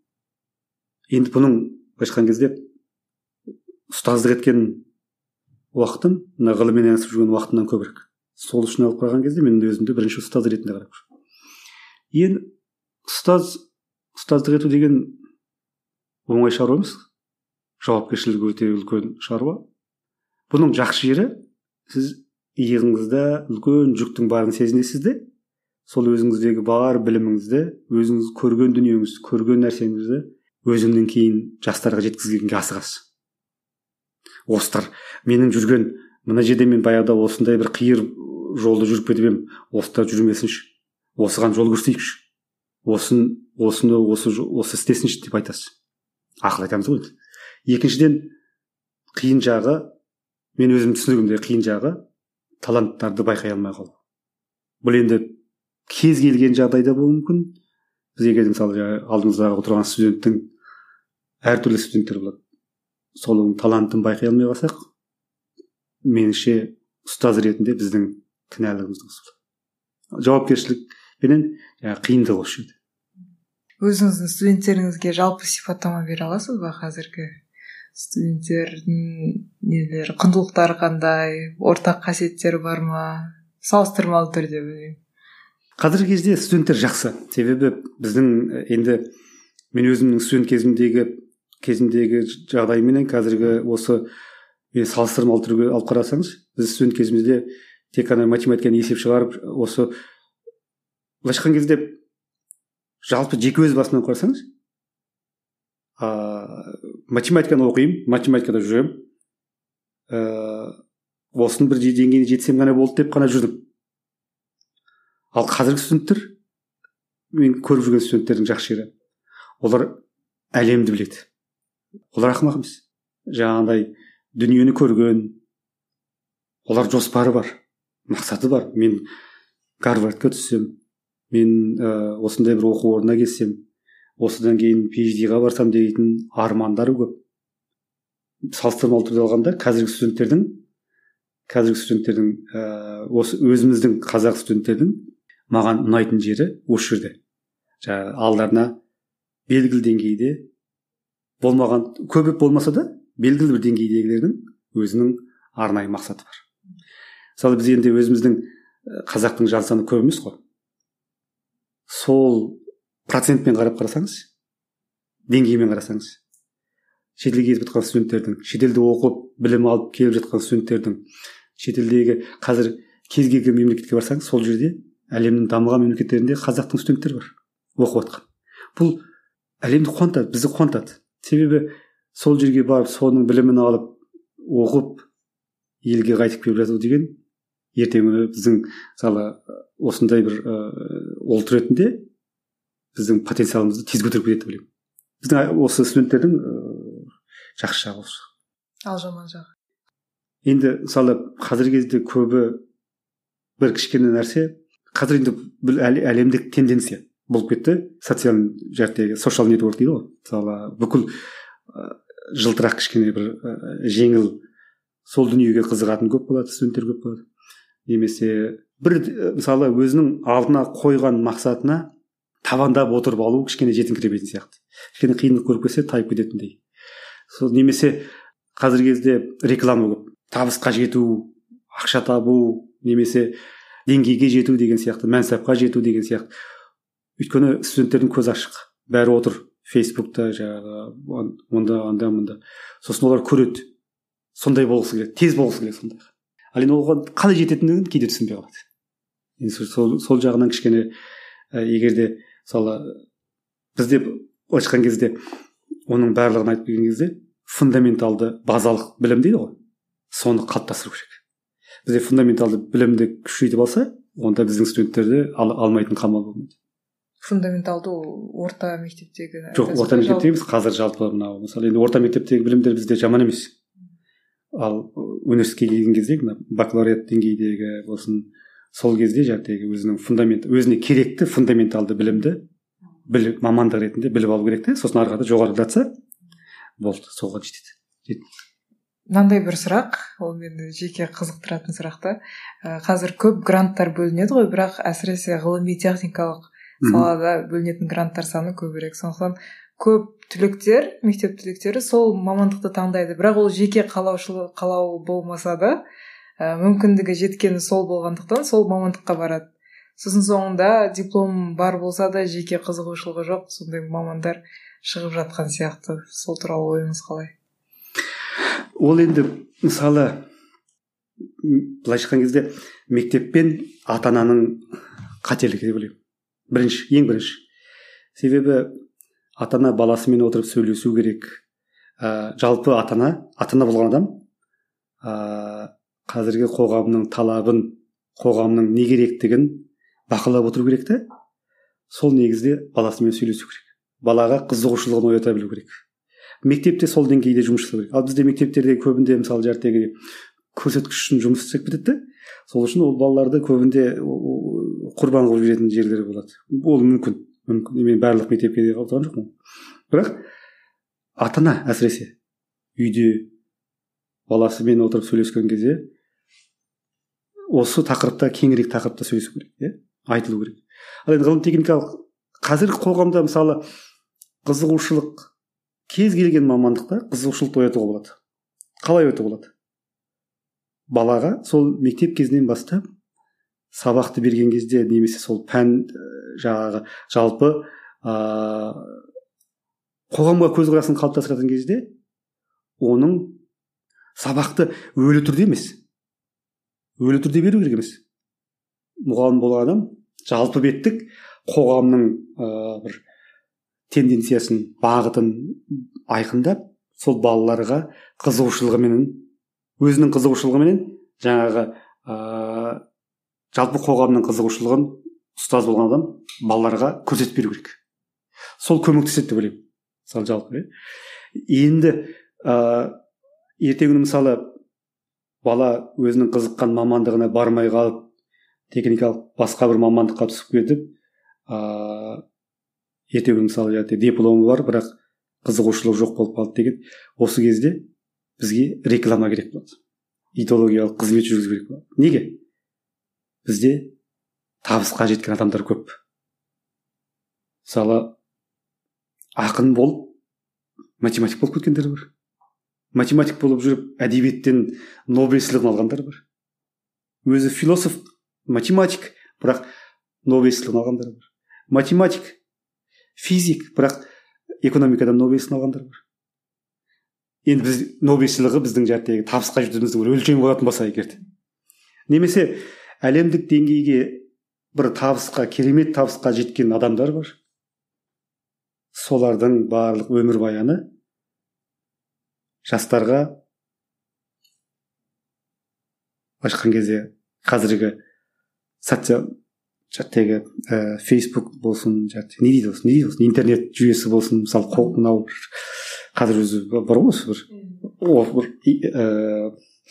Speaker 3: Енді бұның айтқан кезде ұстаздық еткен уақытым мына ғылыммен айналысып жүрген уақытымнан көбірек. Сол үшін алып қараған кезде мен өзімді бірінші ұстаз ретінде қарап жүрмін. Енді ұстаз ұстаздық ету деген оңай шаруа емес. Жауапкершілігі өте үлкен шаруа. Бұның жақсы жері, сіз иығыңызда үлкен жүктің барын сезінесіз де, сол өзіңіздегі бар біліміңізді, өзіңіз көрген дүниеңізді, көрген нәрсеңізді өзіңнен кейін жастарға жеткізгенге асығасыз. Осылар менің жүрген мына жерде мен баяғыда осындай бір қиыр жолды жүріп кетіп едім, осылар жүрмесінші, осыған жол көрсетейікші, осыны осыны осы осы істесінші деп айтасыз. Ақыл айтамыз ғой. Екіншіден қиын жағы, мен өзім түсінігімде қиын жағы таланттарды байқай алмай қалу. Бұл енді кез келген жағдайда болуы мүмкін. Біз егер мысалы алдымыздағы отырған студенттің әртүрлі студенттер болады. Солың талантын байқай алмай қалсақ, меніңше ұстаз ретінде біздің кінәлігіміз осы. Жауапкершілікпенен қиындық осы жерде.
Speaker 2: Өзіңіздің студенттеріңізге жалпы сипаттама бере аласыз ба? Қазіргі студенттердің нелері, құндылықтары қандай, ортақ қасиеттері бар ма? Салыстырмалы түрде білмеймін.
Speaker 3: Қазіргі кезде студенттер жақсы. Себебі біздің енді мен өзімнің студент кезімдегі кезімдегі жағдайменен қазіргі осы мен салыстырмалы түрге алып қарасаңыз, біз студент кезімізде тек қана математиканы есеп шығарып, осы былайша айтқан кезде жалпы жеке өз басымнан қарасаңыз, ә, математиканы оқимын, математикада жүремін, ә, осының бір деңгейіне жетсем ғана болды деп қана жүрдім. Ал қазіргі студенттер, мен көріп жүрген студенттердің жақсы жері, олар әлемді біледі. олар ақымақ емес. Жаңағыдай дүниені көрген, олар жоспары бар, мақсаты бар. Мен Гарвардқа түссем, мен ә, осындай бір оқу орнына келсем, осыдан кейін пи эйч ди-ға барсам дейтін армандары көп. Салыстырмалы түрде алғанда қазіргі студенттердің қазіргі студенттердің ә, осы өзіміздің қазақ студенттердің маған ұнайтын жері осы жерде. Жаңағы алдарына белгілі деңгейде болмаған, көбеп болмаса да белгілі бір деңгейдегілердің өзінің арнайы мақсаты бар. Мысалы біз енді өзіміздің қазақтың жан саны көп емес қой. Сол процентпен қарап қарасаңыз, деңгеймен қарасаңыз, шетелге кетіп жатқан студенттердің, шетелде оқып білім алып келіп жатқан студенттердің, шетелдегі қазір кез келген мемлекетке барсаңыз, сол жерде әлемнің дамыған мемлекеттерінде қазақтың студенттері бар, оқып жатқан. Бұл әлемді қуантады, бізді қуантады. Себебі сол жерге барып, соның білімін алып, оқып, елге қайтып келіп жату деген ертең біздің мысалы осындай бір ұлт ретінде біздің потенциалымызды тез көтеріп кетеді деп ойлаймын. Біздің осы студенттердің жақсы жағы осы.
Speaker 2: Ал жаман жағы.
Speaker 3: Енді мысалы қазіргі кезде көбі бір кішкене нәрсе, қазір енді бұл әлемдік тенденция болып кетті. Социал жәрдегі social network дейді ғой. Мысалы бүкіл жылтырақ кішкене бір жеңіл сол дүниеге қызығатын көп болады, студенттер көп болады. Немесе бір мысалы өзінің алдына қойған мақсатына табандап отырып алу кішкене жетіңкіремейтін сияқты. Кішкене қиындық көріп келсе тайып кететіндей. Сол немесе қазіргі кезде реклама көп. Табысқа жету, ақша табу, немесе деңгейге жету деген сияқты, мәнсапқа жету деген сияқты. Өйткені студенттердің көзі ашық. Бәрі отыр Фейсбукта, жаңағы онда, онда, онда. Сосын олар көреді. Сондай болғысы келеді, тез болғысы келеді сондай. Ал енді оған қалай жететіндігін кейде түсінбей қалады. Енді сол, сол жағынан кішкене ә, егер де мысалы бізде былайша айтқан кезде оның барлығын айтып келген кезде фундаменталды базалық білім дейді ғой, соны қалыптастыру керек. Бізде фундаменталды білімді күшейтіп алса, онда біздің студенттерді ал, алмайтын қамал болмайды.
Speaker 2: Фундаменталды орта мектептегі
Speaker 3: жоқ, орта мектептегі емес, қазір жалпы мынау мысалы енді орта мектептегі білімдер бізде жаман емес. Ал университетке келген кезде мына бакалавриат деңгейдегі болсын, сол кезде жаңағы өзінің фундамент, өзіне керекті фундаменталды білімді біліп, мамандық ретінде біліп алу керек те, сосын ары қарата жоғарылатса болды, соған жетеді.
Speaker 2: Мынандай бір сұрақ, ол мені жеке қызықтыратын сұрақ та. Қазір көп гранттар бөлінеді ғой, бірақ әсіресе ғылыми техникалық салада бөлінетін гранттар саны көбірек. Сондықтан көп түлектер, мектеп түлектері сол мамандықты таңдайды, бірақ ол жеке қалаушылық қалау болмаса да ә, мүмкіндігі жеткені сол болғандықтан сол мамандыққа барады. Сосын соңында диплом бар болса да жеке қызығушылығы жоқ сондай мамандар шығып жатқан сияқты. Сол туралы ойыңыз қалай?
Speaker 3: Ол енді мысалы былайша айтқан кезде мектеп пен ата-ананың қателігі деп ойлаймын. Бірінші, ең бірінші. Себебі ата-ана баласымен отырып сөйлесу керек. Ә, жалпы ата-ана, ата-ана болған адам ә, қазіргі қоғамның талабын, қоғамның не керектігін бақылап отыру керек те, сол негізде баласымен сөйлесу керек. Балаға қызығушылығын оята білу керек. Мектепте сол деңгейде жұмыс жасау керек. Ал бізде мектептерде көбінде мысалы жартегі көрсеткіш үшін жұмыс істеп кетеді. Сол үшін ол балаларды көбінде құрбан қылып жүретін жерлері болады. Ол мүмкін. мүмкін. Мен барлық мектепке де қалып жоқпын. Бірақ ата-ана әсіресе үйде баласымен отырып сөйлескен кезде осы тақырыпта, кеңірек тақырыпта сөйлесу керек, иә? Айтылу керек. Ал енді ғылым техникалық қазіргі қоғамда мысалы қызығушылық, кез келген мамандықта қызығушылықты оятуға болады. Қалай оятуға болады? Балаға сол мектеп кезінен бастап сабақты берген кезде немесе сол пән жаңағы жалпы ә, қоғамға көзқарасын қалыптастыратын кезде оның сабақты өлі түрде емес, өлі түрде беру керек емес. Мұғалім болған адам жалпы беттік қоғамның ә, бір тенденциясын, бағытын айқындап, сол балаларға қызығушылығыменен, өзінің қызығушылығыменен жаңағы ә, жалпы қоғамның қызығушылығын ұстаз болған адам балаларға көрсетіп беру керек. Сол көмектеседі деп ойлаймын. Мысалы жалпы. енді ә, ертеңгі күні мысалы бала өзінің қызыққан мамандығына бармай қалып техникалық басқа бір мамандыққа түсіп кетіп ыыы ертеңгі күні мысалы жәте дипломы бар бірақ қызығушылығы жоқ болып қалды деген, осы кезде бізге реклама керек болады, идеологиялық қызмет жүргізу керек болады. Неге? Бізде табысқа жеткен адамдар көп. Мысалы ақын болып математик болып кеткендер бар, математик болып жүріп әдебиеттен Нобель сыйлығын алғандар бар, өзі философ, математик, бірақ Нобель сыйлығын алғандар бар, математик, физик, бірақ экономикадан Нобель сыйлығын алғандар бар. Енді біз Нобель сыйлығы біздің жәттегі табысқа жетуіміздің бір өлшем болатын болса егер, немесе әлемдік деңгейге бір табысқа, керемет табысқа жеткен адамдар бар, солардың барлық өмірбаяны жастарға ашқан кезде қазіргі социал жәттегі ә, Facebook болсын, жәттегі не дейді болсын, не дейді болсын, интернет жүйесі болсын, мысалы қол мынау қазір өзі бар ғой осы бір о бір ә,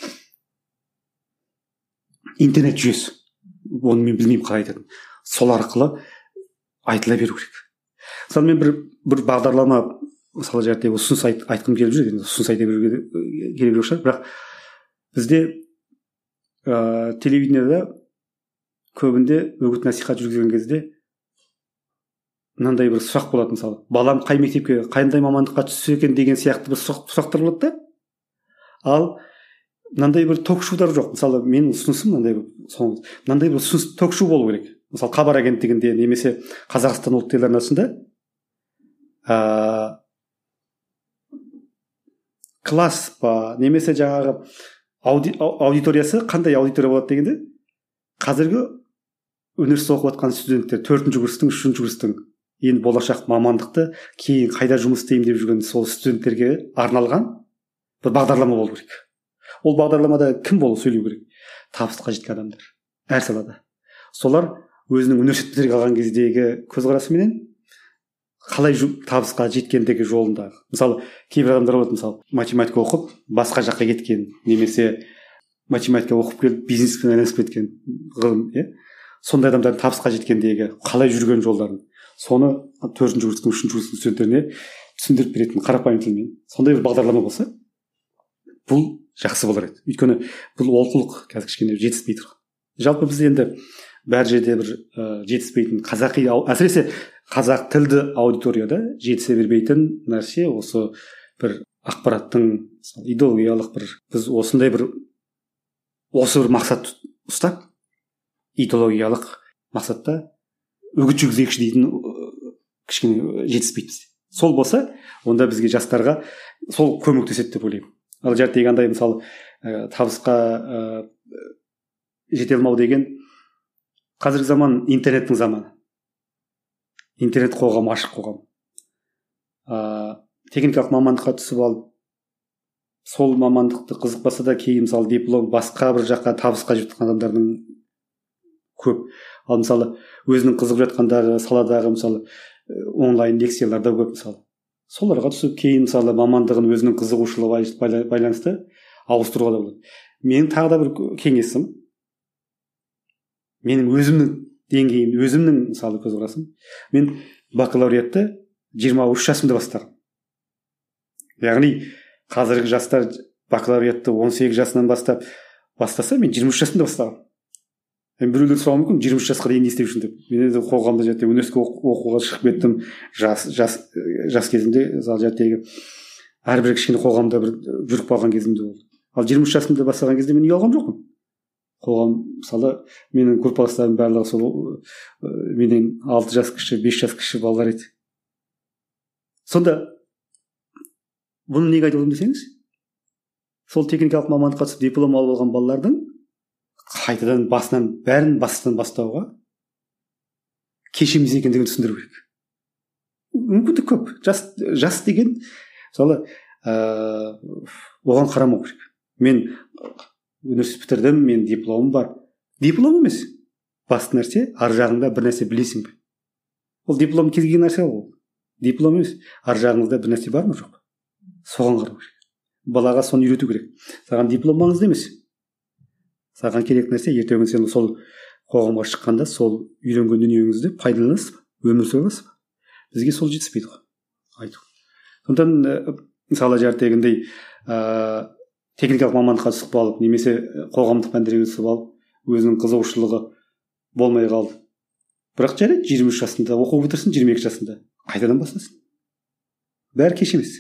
Speaker 3: интернет жүйесі, оны мен білмеймін қалай айтатынын, сол арқылы айтыла беру керек. Мысалы мен бір бір бағдарлама мысалы жәттегі ұсыныс айт, айтқым келіп жүр, енді ұсыныс айта беруге керек жоқ шығар, бірақ бізде ә, телевидениеда көбінде үгіт насихат жүргізген кезде мынандай бір сұрақ болады, мысалы балам қай мектепке, қандай мамандыққа түссе екен деген сияқты бір сұрақтар болады да, ал мынандай бір ток-шоудар жоқ. Мысалы менің ұсынысым мынандай бір мынандай бір ұсыныс ток-шоу болу керек. Мысалы Хабар агенттігінде немесе Қазақстан ұлттық телеарнасында ә, класс па немесе жаңағы ауди, аудиториясы қандай аудитория болады дегенде, қазіргі университетте оқып жатқан студенттер, төртінші курстың, үшінші курстың енді болашақ мамандықты кейін қайда жұмыс істеймін деп жүрген сол студенттерге арналған бір бағдарлама болу керек. Ол бағдарламада кім болып сөйлеу керек? Табысқа жеткен адамдар әр салада. Солар өзінің университет бітіріп алған кездегі көзқарасыменен қалай табысқа жеткендегі жолындағы. Мысалы кейбір адамдар болады, мысалы математика оқып басқа жаққа кеткен, немесе математика оқып келіп бизнеспен айналысып кеткен ғылым, иә, сондай адамдардың табысқа жеткендегі қалай жүрген жолдарын, соны төртінші курстың, үшінші курстың студенттеріне түсіндіріп беретін қарапайым тілмен сондай бір бағдарлама болса, бұл жақсы болар еді. Өйткені бұл олқылық қазір кішкене жетіспей тұр. Жалпы біз енді бәр жерде бір ә, жетіспейтін қазақи, әсіресе қазақ тілді аудиторияда жетісе бермейтін нәрсе осы бір ақпараттың идеологиялық бір, біз осындай бір осы бір мақсат ұстап, идеологиялық мақсатта үгіт жүргізейікші дейтін кішкене жетіспейді. Сол болса, онда бізге жастарға сол көмектеседі деп ойлаймын. Ал жәттегі андай мысалы ә, табысқа ә, жете алмау деген, қазіргі заман интернеттің заманы. Интернет қоғам, ашық қоғам. Ә, техникалық мамандыққа түсіп алып, сол мамандықты қызықпаса да кейін мысалы диплом басқа бір жаққа табысқа жеткен адамдардың көп. Ал мысалы өзінің қызығып жатқандағы саладағы мысалы онлайн лекцияларда көп, мысалы соларға түсіп кейін мысалы мамандығын өзінің қызығушылығы байланысты ауыстыруға да болады. Менің тағы да бір кеңесім, менің өзімнің деңгейім, өзімнің мысалы көзқарасым, мен бакалавриатты жиырма үш жасымда бастағанмын. Яғни қазіргі жастар бакалавриатты он сегіз жасынан бастап бастаса, мен жиырма үш жасымда бастағанмын. Мен біреулер сұрауы мүмкін, жиырма үш жасқа дейін не істеу үшін деп. Мен енді қоғамда жәте университетке оқуға шығып кеттім. Жас жас жас кезімде мысалы жәтегі әрбір кішкене қоғамда бір жүріп қалған кезімде болды. Ал жиырма үш жасымда бастаған кезде мен ұялған жоқпын. Қоғам мысалы менің группаластарым барлығы сол менен алты жас кіші, бес жас кіші балалар еді. Сонда бұны неге айтып отырмын десеңіз, сол техникалық мамандыққа түсіп диплом алып алған балалардың қайтадан басынан бәрін бастан бастауға кеш емес екендігін түсіндіру керек. Мүмкіндік көп. Жас, жас деген мысалы ә, оған қарамау керек. Мен университет бітірдім, мен дипломым бар. Диплом емес. Басты нәрсе, ар жағыңда бір нәрсе білесің бе? Ол диплом кез келген нәрсе ол. Диплом емес. Ар жағыңызда бір нәрсе бар ма жоқ па? соған қарау керек. Балаға соны үйрету керек. Саған диплом маңызды емес. Саған керек нәрсе ертеңгі сен сол қоғамға шыққанда сол үйренген дүниеңізді пайдаланасыз ба, өмір сүре аласыз ба? Бізге сол жетіспейді ғой айту. Сондықтан мысалы дегендей ә, техникалық мамандыққа түсіп алып немесе қоғамдық пәндерге түсіп алып өзінің қызығушылығы болмай қалды. Бірақ жарайды, жиырма үш жасында оқу бітірсін, жиырма екі жасында қайтадан бастасын. Бәрі кеш емес.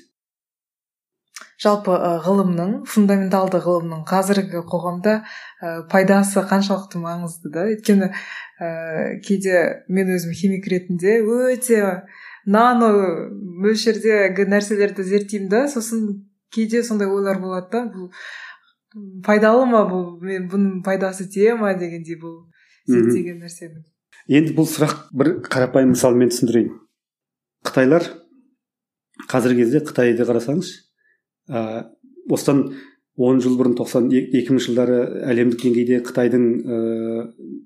Speaker 2: Жалпы ғылымның, фундаменталды ғылымның қазіргі қоғамда ә, пайдасы қаншалықты маңызды да? Өйткені ә, кейде мен өзім химик ретінде өте нано мөлшердегі нәрселерді зерттеймін да, сосын кейде сондай ойлар болады да, бұл пайдалы ма, бұл мен бұның пайдасы тие ма дегендей бұл зерттеген нәрсені.
Speaker 3: Енді бұл сұрақ бір қарапайым мысалмен түсіндірейін. Қытайлар қазіргі кезде Қытайды қарасаңыз, ә, осыдан он жыл бұрын тоқсан екі мың жылдары әлемдік деңгейде Қытайдың ә,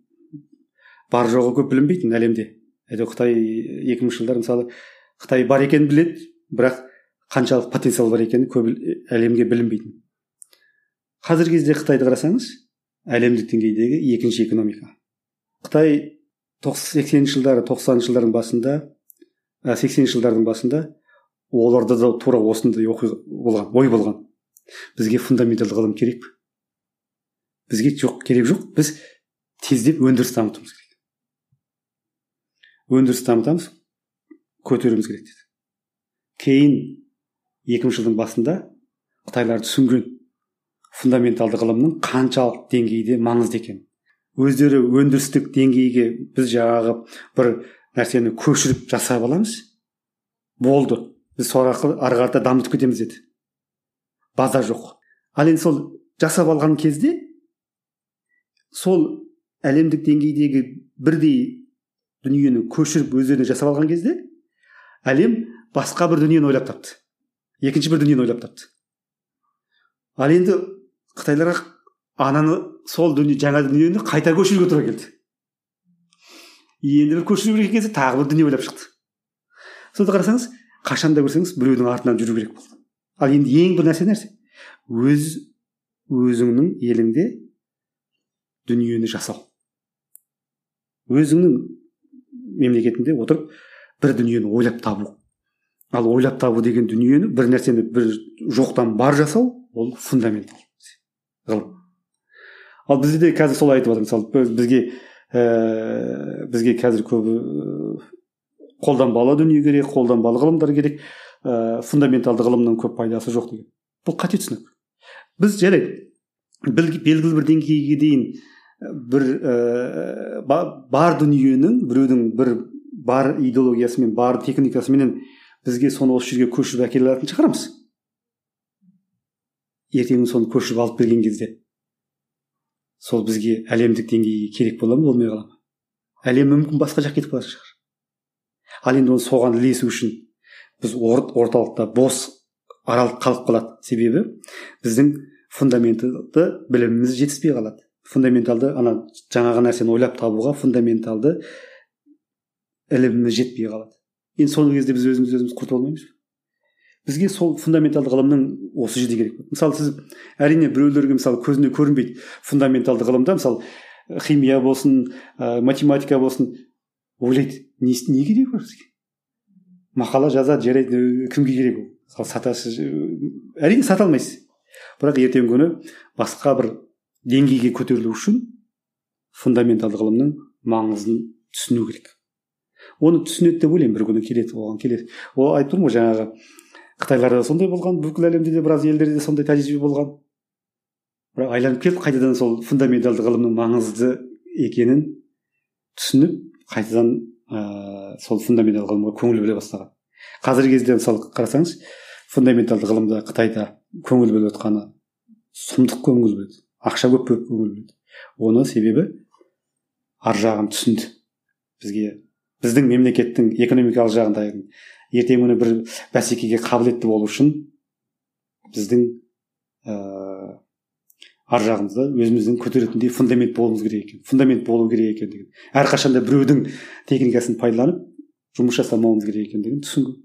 Speaker 3: бар жоғы көп білінбейтін әлемде. Әйтеуір Қытай екі мың жылдар мысалы Қытай бар екенін біледі, бірақ қаншалық потенциал бар екені көп әлемге білінбейтін. Қазіргі кезде Қытайды қарасаңыз, әлемдік деңгейдегі екінші экономика. Қытай сексенінші жылдары, тоқсаныншы жылдардың басында, сексенінші жылдардың басында оларда да тура осындай оқиға болған, ой болған. Бізге фундаменталды ғылым керек пе? Бізге жоқ, керек жоқ. Біз тездеп өндіріс дамытуымыз керек. Өндіріс дамытамыз, көтеруіміз керек деді. Кейін екі мың жылдың басында Қытайлар түсінген фундаменталды ғылымның қаншалық деңгейде маңызды екенін. Өздері өндірістік деңгейге біз жаңағы бір нәрсені көшіріп жасап аламыз. Болды. Біз сол арқылы ары қарата дамытып кетеміз деді. База жоқ. Ал енді сол жасап алған кезде сол әлемдік деңгейдегі бірдей дүниені көшіріп өздеріне жасап алған кезде әлем басқа бір дүниені ойлап тапты. Екінші бір дүниені ойлап тапты. Ал енді Қытайларға ананы сол дүние, жаңа дүниені қайта көшіруге тура келді. Енді бір көшіру керек кезде тағы бір дүние ойлап шықты. Сонда қарасаңыз, қашанда көрсеңіз біреудің артынан жүру керек болды. Ал енді ең бір нәрсе нәрсе өз өзіңнің еліңде дүниені жасау. Өзіңнің мемлекетінде отырып бір дүниені ойлап табу. Ал ойлап табу деген дүниені, бір нәрсені бір жоқтан бар жасау, ол фундаментал ғылым. Ал бізде де қазір сол айтып жатыр. Мысалы бізге ә, бізге қазір көбі қолданбалы дүние керек, қолданбалы ғылымдар керек, ә, фундаменталды ғылымның көп пайдасы жоқ деген. Бұл қате түсінік. Біз жарайды, белгілі бір деңгейге дейін бір ә, бар дүниенің, біреудің бір бар идеологиясымен, бар техникасымен бізге соны осы жерге көшіріп әкеле алатын шығарамыз. Ертеңін соны көшіріп алып берген кезде сол бізге әлемдік деңгейге керек бола ма, болмай қала ма? Әлем мүмкін басқа жаққа кетіп қалатын шығар. Ал енді оны соған ілесу үшін біз орталықта бос аралық қалып қалады. Себебі біздің фундаменталды біліміміз жетіспей қалады. Фундаменталды ана жаңағы нәрсені ойлап табуға фундаменталды іліміміз жетпей қалады. Енді сол кезде біз өзіміз өзіміз құртып алмаймыз. Бізге сол фундаменталды ғылымның осы жерде керек. Мысалы сіз әрине біреулерге мысалы көзіне көрінбейді фундаменталды ғылымда, мысалы химия болсын, математика болсын, ойлайды, не, не керек бар бізге? Мақала жазады, жарайды, кімге керек ол? Мысалы сатасыз, әрине сата алмайсыз. Бірақ ертеңгі күні басқа бір деңгейге көтерілу үшін фундаменталды ғылымның маңызын түсіну керек. Оны түсінеді деп ойлаймын, бір күні келеді, оған келеді. Ол айтып тұрмын ғой жаңағы Қытайларда сондай болған, бүкіл әлемде де біраз елдерде сондай тәжірибе болған. Бірақ айланып келіп қайтадан сол фундаменталды ғылымның маңызды екенін түсініп, қайтадан ә, сол фундаменталды ғылымға көңіл бөле бастаған. Қазіргі кезде мысалы қарасаңыз, фундаменталды ғылымда Қытайда көңіл бөліп отқаны сұмдық көңіл бөледі, ақша көп көп көңіл бөледі. Оны себебі ар жағын түсінді. Бізге біздің мемлекеттің экономикалық жағында ертең күні бір бәсекеге қабілетті болу үшін біздің ә, ар жағымызда өзіміздің көтеретіндей фундамент болуымыз керек екен. Фундамент болу керек екен деген. Әрқашанда біреудің техникасын пайдаланып жұмыс жасамауымыз керек екен деген түсінген.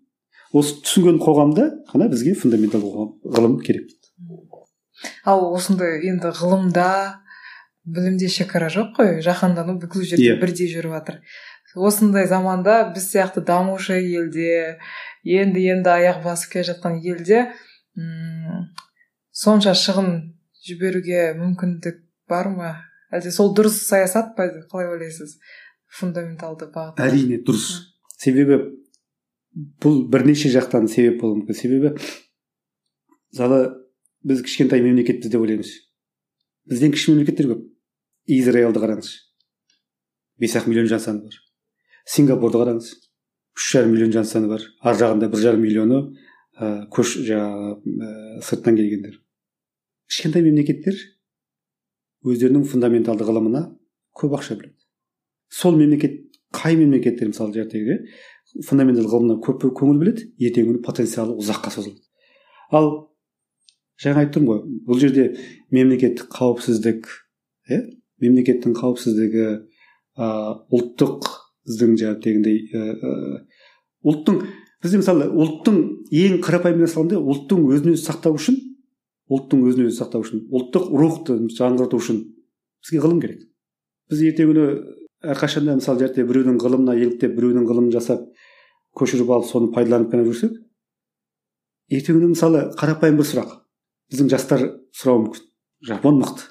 Speaker 3: осы түсінген қоғамда ғана бізге фундаментал ғылым керек.
Speaker 2: Ал осындай енді ғылымда, білімде шекара жоқ қой, жаһандану бүкіл жерде yeah. бірдей жүріп жатыр. Осындай заманда біз сияқты дамушы елде, енді енді аяқ басып келе жатқан елде м- сонша шығын жіберуге мүмкіндік бар ма? Әлде сол дұрыс саясат па? Қалай ойлайсыз? Фундаменталды бағыт.
Speaker 3: Әрине дұрыс. Себебі бұл бірнеше жақтан себеп болуы мүмкін. Себебі мысалы біз кішкентай мемлекетпіз деп ойлаймыз. Бізден кіші мемлекеттер көп. Израильді қараңыз. бес ақ миллион жан саны бар. Сингапурды қараңыз. үш жарым миллион жан саны бар. Ар жағында бір жарым миллионы ә, көш жаңағы ә, сырттан келгендер. Кішкентай мемлекеттер өздерінің фундаменталды ғылымына көп ақша бөледі. Сол мемлекет, қай мемлекеттер мысалы жертегі фундаменталды ғылымына көп көңіл бөледі, ертеңгі күні потенциалы ұзаққа созылады. Ал жаңа айтып тұрмын ғой, бұл жерде мемлекеттік қауіпсіздік, е? мемлекеттің қауіпсіздігі, ә, ұлттық біздің жаңағыдегіндей ұлттың бізде мысалы ұлттың ең қарапайым мәселе ұлттың өзін өзі сақтау үшін, ұлттың өзін өзі сақтау үшін, ұлттық рухты жаңғырту үшін бізге ғылым керек. Біз ертеңгі күні әрқашанда мысалы жерде біреудің ғылымына еліктеп, біреудің ғылымын жасап, көшіріп алып, соны пайдаланып қана жүрсек, ертеңгі күні мысалы қарапайым бір сұрақ. Біздің жастар сұрауы мүмкін. Жапон мықты.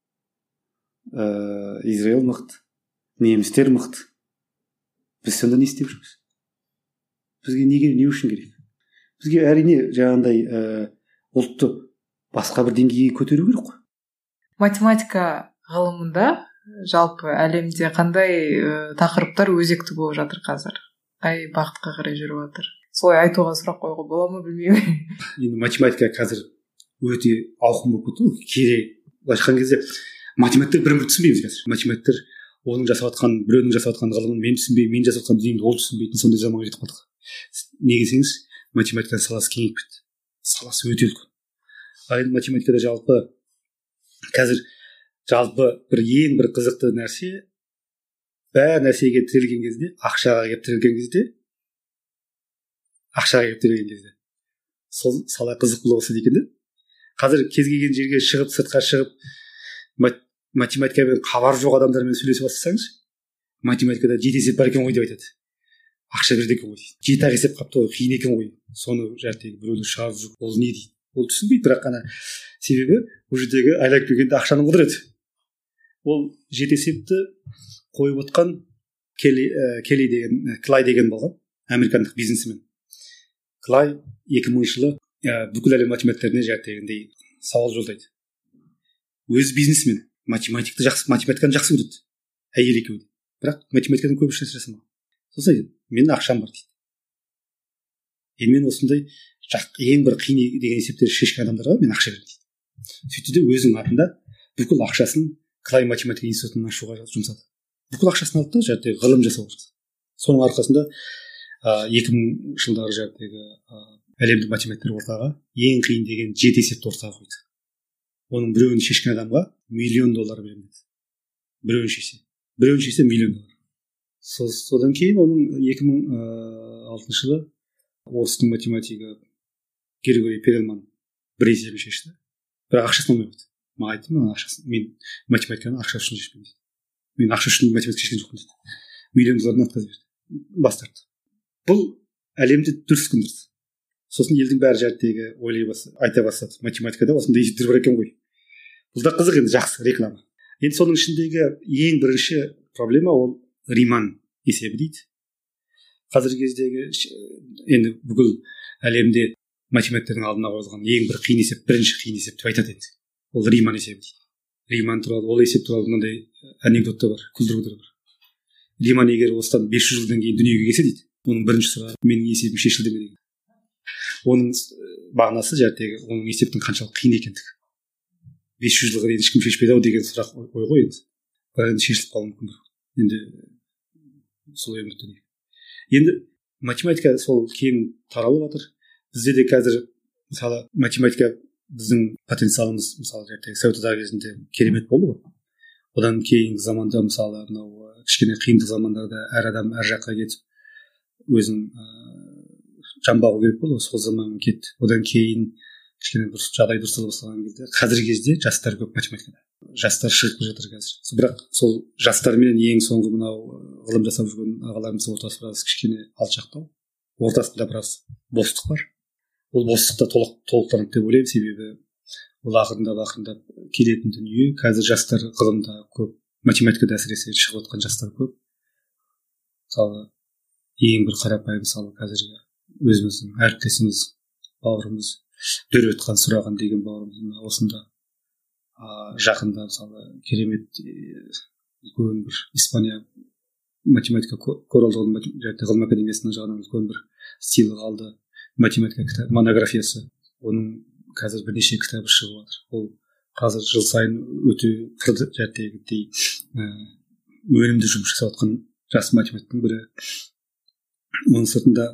Speaker 3: Ә, Израиль мықты. Немістер мықты. Біз сонда не істеп жүрміз? Бізге неге, не үшін керек? Бізге әрине жаңағындай ә, ұлтты басқа бір деңгейге көтеру керек қой.
Speaker 2: Математика ғылымында жалпы әлемде қандай ә, тақырыптар өзекті болып жатыр қазір? Қай бағытқа қарай жүріп жатыр? Солай айтуға сұрақ қоюға бола ма, білмеймін.
Speaker 3: Енді математика қазір өте ауқым болып кетті ғой. Керек. Былайша айтқан кезде математиктер бірін-бірі түсінбейміз қазір. Математиктер оның жасап жатқан, біреудің жасап жатқан ғылымын мен түсінбей, мен жасап жатқан дүниемді ол түсінбейтін сондай заманға жетіп қалдық. Неге десеңіз, математиканың саласы кеңейіп кетті. Саласы өте үлкен. Ал енді математикада жалпы қазір жалпы бір ең бір қызықты нәрсе, бәр нәрсеге тірелген кезде, ақшаға келіп тірелген кезде, ақшаға келіп тірелген кезде, сол сала қызық бола бастады екен де. Қазір кез келген жерге шығып, сыртқа шығып, математикамен хабар жоқ адамдармен сөйлесе бастасаңыз, математикада жеті есеп бар екен ғой деп айтады. Ақша берді екен ғой дейді. Жеті ақ есеп қапты ғой, қиын екен ғой. Соны жәртегі біреуді шығарып жүр. Ол не дейді? Ол түсінбейді, бірақ қана себебі бұл жердегі айлап келгенде ақшаның құдіреті. Ол жеті есепті қойып отқан Келли, ә, Келли деген, Клай деген болған, американдық бизнесмен. Клай екі мыңыншы жылы ә, бүкіл әлем математиктеріне жәртегіндей сауал жолдайды. Өз бизнесмен математикті жақсы, математиканы жақсы көреді. Әйел екеуі. Бірақ математикадан көп нәрсе жасамаған. Сосын айтады, менің ақшам бар дейді. Енді мен осындай ең бір қиын деген есептерді шешкен адамдарға мен ақша беремін дейді. Сөйтті де өзінің атында бүкіл ақшасын Клай математика институтын ашуға жұмсады. Бүкіл ақшасын алды да жәрдегі ғылым жасауға жасады. Соның арқасында екі мың жылдары жәрдегі әлемдік математиктер ортаға ең қиын деген жеті есепті ортаға қойды. Оның біреуін шешкен адамға миллион доллар беремін деді. Біреуін шешсе. Біреуін шешсе миллион доллар. Содан кейін оның екі мың алтыншы жылы орыстың математигі Григорий Перельман бір есебін шешті. Бірақ ақшасын алмай қойды. Маған айтты, мен ақшасын, мен математиканы ақша үшін шешпеймін дейді. Мен ақша үшін математика шешкен жоқпын дейді. Миллион доллардан отказ берді. Бас тартты. Бұл әлемде дүрс күндірді. Сосын елдің бәрі жәрттегі ойлай бастады, айта бастады. Математикада осындай есептер бар екен ғой. Бұл да қызық, енді жақсы реклама. Енді соның ішіндегі ең бірінші проблема ол Риман есебі дейді. Қазіргі кездегі енді бүкіл әлемде математиктердің алдына қойылған ең бір қиын есеп, бірінші қиын есеп деп айтады енді. Ол Риман есебі дейді. Риман туралы, ол есеп туралы мынандай анекдот та бар, күлдіргі бар. Риман егер осыдан бес жүз жылдан кейін дүниеге келсе дейді, оның бірінші сұрағы менің есебім шешілді ме деген. Оның мағынасы жәртегі оның есептің қаншалық қиын екендігі. бес жүз жылға дейін ешкім шешпеді ау деген сұрақ ой ғой енді. Бірақ енді шешіліп қалуы мүмкін. Енді солай үміттенейік. Енді математика сол кең таралып жатыр. Бізде де қазір мысалы математика біздің потенциалымыз мысалы жәртегі совет одағы кезінде керемет болды ғой. Одан кейінгі заманда мысалы мынау кішкене қиындық замандарда әр адам әр жаққа кетіп өзінің жанбағу керек болды сол заман кетті. Одан кейін кішкене дұрыс жағдай дұрыстала бастаған кезде қазіргі кезде жастар көп математикада. Жастар шығып келе жатыр қазір. Бірақ сол жастармен ең соңғы мынау ғылым жасап жүрген ағаларымыздың ортасы біраз кішкене алшақтау. Ортасында біраз бостық бар. Ол бостықта толық толықтанып деп ойлаймын, себебі ол ақырындап ақырындап келетін дүние. Қазір жастар ғылымда көп, математикада әсіресе шығып жатқан жастар көп. Мысалы ең бір қарапайым мысалы қазіргі өзіміздің әріптесіміз, бауырымыз Дөрветхан сұраған деген бауырымыз осында а, жақында мысалы керемет үлкен бір Испания математика коралдығын ғылым академиясының жағынан үлкен бір сыйлық алды. Математика кітап монографиясы, оның қазір бірнеше кітабы шығып жатыр. Ол қазір жыл сайын өте жәттегідей өнімді жұмыс жасап жатқан жас математиктің бірі. Оның сыртында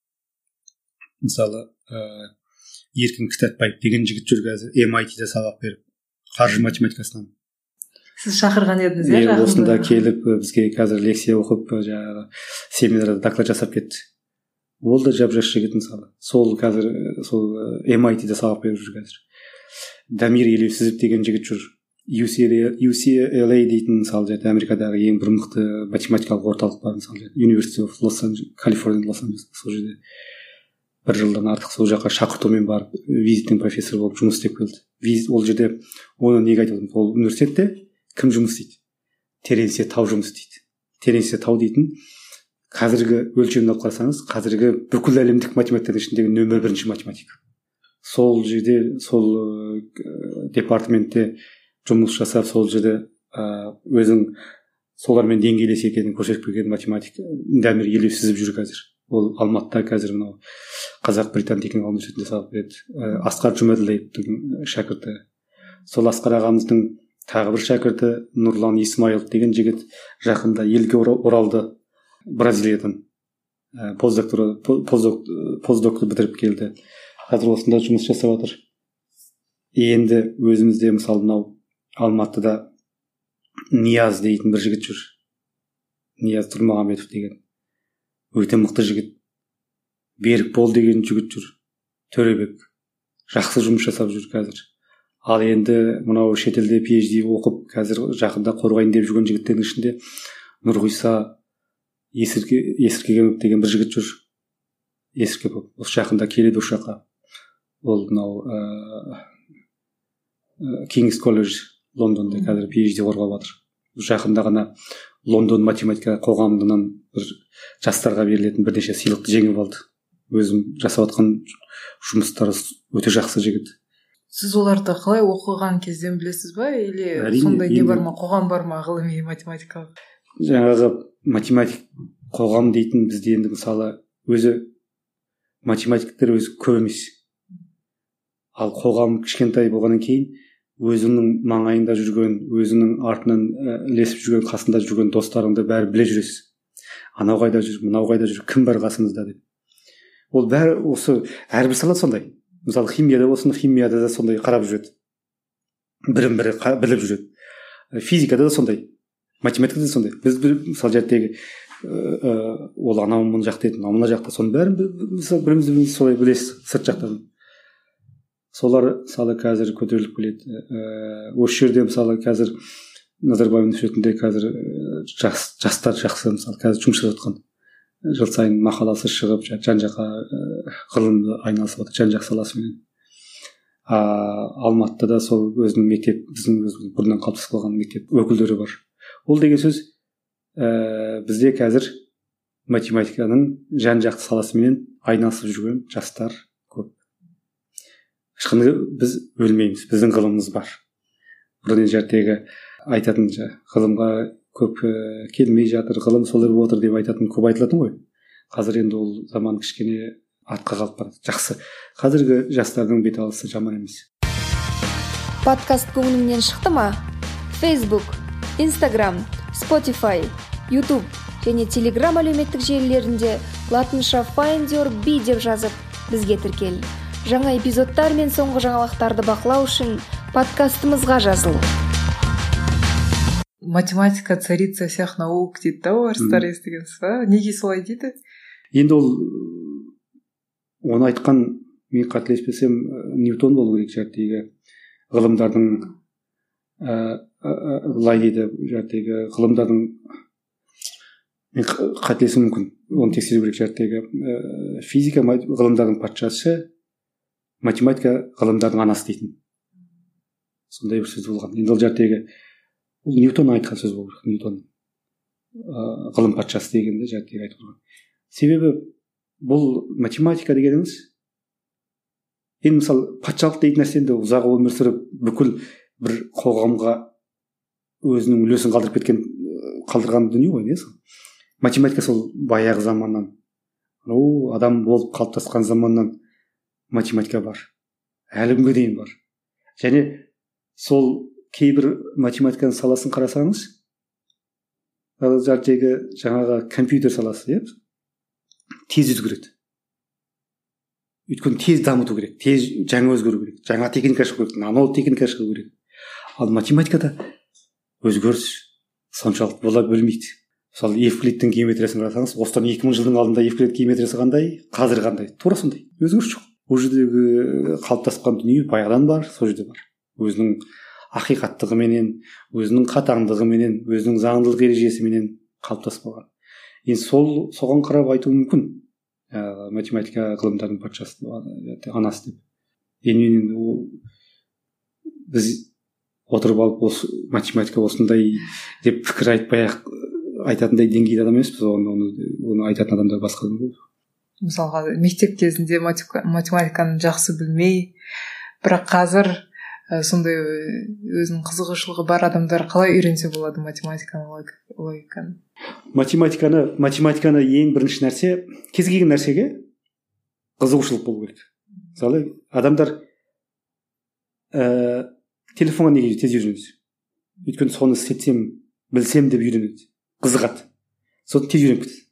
Speaker 3: мысалы ә, Еркін Кітапбаев деген жігіт жүр қазір эм ай ти-де сабақ беріп, қаржы математикасынан.
Speaker 2: Сіз шақырған едіңіз,
Speaker 3: иә? Осында келіп бізге қазір лекция оқып, жаңағы семинарда доклад жасап кетті. Ол да жап-жас жігіт мысалы. Сол қазір сол эм ай ти-де сабақ беріп жүр қазір. Дамир Елеусізов деген жігіт жүр. ю си эл эй дейтін мысалы Америкадағы ең бір мықты математикалық орталық бар мысалы. University of Los Angeles, Калифорния, Лос-Анджелес. Сол жерде бір жылдан артық сол жаққа шақыртумен барып визиттің профессор болып жұмыс істеп келді. Визит ол жерде оны неге айтып отырмын? Ол университетте кім жұмыс істейді? Теренсе Тау жұмыс істейді. Теренсе Тау дейтін қазіргі өлшемін алып қарасаңыз, қазіргі бүкіл әлемдік математиктердің ішіндегі нөмір бірінші математик. Сол жерде сол ә, департаментте жұмыс жасап, сол жерде ә, өзің солармен деңгейлес екенін көрсетіп келген математик Дамир Елеусізов жүр қазір. Ол Алматыда қазір мынау Қазақ-Британ техникалық университетінде сабақ береді. Ә, Асқар Жұмаділовтың шәкірті. Сол Асқар ағамыздың тағы бір шәкірті Нұрлан Исмаилов деген жігіт жақында елге оралды Бразилиядан. Ә, постдоктор постдокты бітіріп келді. Қазір осында жұмыс жасап жатыр. Енді өзімізде мысалы мынау Алматыда Нияз дейтін бір жігіт жүр. Нияз Тұрмағамбетов деген. Өте мықты жігіт. Берікбол деген жігіт жүр. Төребек. Жақсы жұмыс жасап жүр қазір. Ал енді мынау шетелде пи эйч ди оқып, қазір жақында қорғайын деп жүрген жігіттердің ішінде Нұрғиса Есіркегенов деген бір жігіт жүр. Есіркегенов. Осы жақында келеді осы жаққа. Ол мынау King's College Лондонда қазір пи эйч ди қорғап жатыр. Жақында ғана Лондон математика қоғамынан бір жастарға берілетін бірнеше сыйлықты жеңіп алды. Өзім жасап жатқан жұмыстары өте жақсы жігіт.
Speaker 2: Сіз оларды қалай оқыған кезден білесіз ба? Или сондай не бар ма, қоғам бар ма ғылыми математикалық?
Speaker 3: Жаңағы математик қоғам дейтін бізде енді мысалы өзі математиктер өзі көп емес. Ал қоғам кішкентай болғаннан кейін өзінің маңайында жүрген, өзінің артынан ілесіп жүрген, қасында жүрген достарыңды бәрі біле жүресіз. Анау қайда жүр, мынау қайда жүр, кім бар қасыңызда деп. Ол бәрі осы әрбір сала сондай. Мысалы химияда болсын, химияда да сондай қарап жүреді. Бірін-бірі біліп жүреді. Физикада да сондай. Математикада да сондай. Біз мысалы жәттегі ол анау мына жақта еді, мына жақта, соның бәрін бірімізді солай білесіз сырт жақтан. Солар мысалы қазір көтеріліп келеді. Осы жерде мысалы қазір Назарбаев университетінде қазір жас, жастар жақсы мысалы қазір жұмыс жасап жатқан. Жыл сайын мақаласы шығып, жан-жаққа ғылымды айналысып жатыр, жан-жақ саласымен. Алматыда да сол өзінің мектеп, біздің өзіміздің бұрыннан қалыптасып қалған мектеп өкілдері бар. Ол деген сөз ә, бізде қазір математиканың жан-жақты саласымен айналысып жүрген жастар көп. Ешқандай біз өлмейміз, біздің ғылымымыз бар. Бұрын жәртегі айтатын ғылымға көп келмей жатыр, ғылым солай болып отыр деп айтатын көп айтылатын ғой. Қазір енді ол заман кішкене артқа қалып барады. Жақсы. Қазіргі жастардың бет алысы жаман емес.
Speaker 1: Подкаст көңіліңнен шықты ма? Facebook, Instagram, Spotify, YouTube және Telegram әлеуметтік желілерінде латынша Find Your Bee деп жазып, бізге тіркел. Жаңа эпизодтар мен соңғы жаңалықтарды бақылау үшін подкастымызға жазыл.
Speaker 2: Математика царица всех наук дейді да, орыстар естігенсіз ба? Неге солай дейді?
Speaker 3: Енді ол оны айтқан, мен қателеспесем, Ньютон болу керек жәттегі ғылымдардың былай дейді, жәттегі ғылымдардың, мен қателесуім мүмкін, оны тексеру керек, жәттегі физика ғылымдардың патшасы, математика ғылымдардың анасы дейтін. Сондай бір сөз болған. Енді ол жәттегі Ньютон айтқан сөз болу керек, Ньютон ғылым патшасы дегенде жәттегі айтып тұрған. Себебі бұл математика дегеніміз, енді мысалы патшалық дейтін нәрсенде ұзақ өмір сүріп бүкіл бір қоғамға өзінің үлесін қалдырып кеткен, қалдырған дүние ғой, не сол. Математика сол баяғы заманнан, о адам болып қалыптасқан заманнан математика бар, әлі күнге дейін бар. Және сол кейбір математиканың саласын қарасаңыз, жаңағы компьютер саласы, тез өзгереді. Өйткені тез дамыту керек, тез жаңа өзгеру керек, жаңа техника шығу керек, нано техника шығу керек. Ал математикада өзгеріс соншалық бола бермейді. Мысалы, Евклидтің геометриясын қарасаңыз, осыдан екі мың жылдың алдында Евклид геометриясы қандай, қазір қандай, тура сондай. Өзгеріс жоқ. Ол жердегі қалыптасқан дүние баяғыдан бар, сол жерде бар. Өзінің ақиқаттығыменен, өзінің қатаңдығыменен, өзінің заңдылық ережесіменен қалыптасып қалған. Енді сол соған қарап айту мүмкін. Ә, математика ғылымдардың патшасы, анасы деп. Енді ол біз отырып алып осы математика осындай деп пікір айтпай-ақ айтатындай деңгейде адам емеспіз. Оны, оны, оны айтатын адамдар басқа болды.
Speaker 2: Мысалға, мектеп кезінде математиканы жақсы білмей, бірақ қазір ә, сондай өзінің қызығушылығы бар адамдар қалай үйренсе болады математиканы, логиканы?
Speaker 3: Математиканы, математиканы ең бірінші нәрсе, кез келген нәрсеге қызығушылық болу керек. Мысалы, адамдар ә, телефонға неге тез үйренеді? Өйткені соны істетсем, білсем деп үйренеді. Қызығады. Соны тез үйреніп кетеді.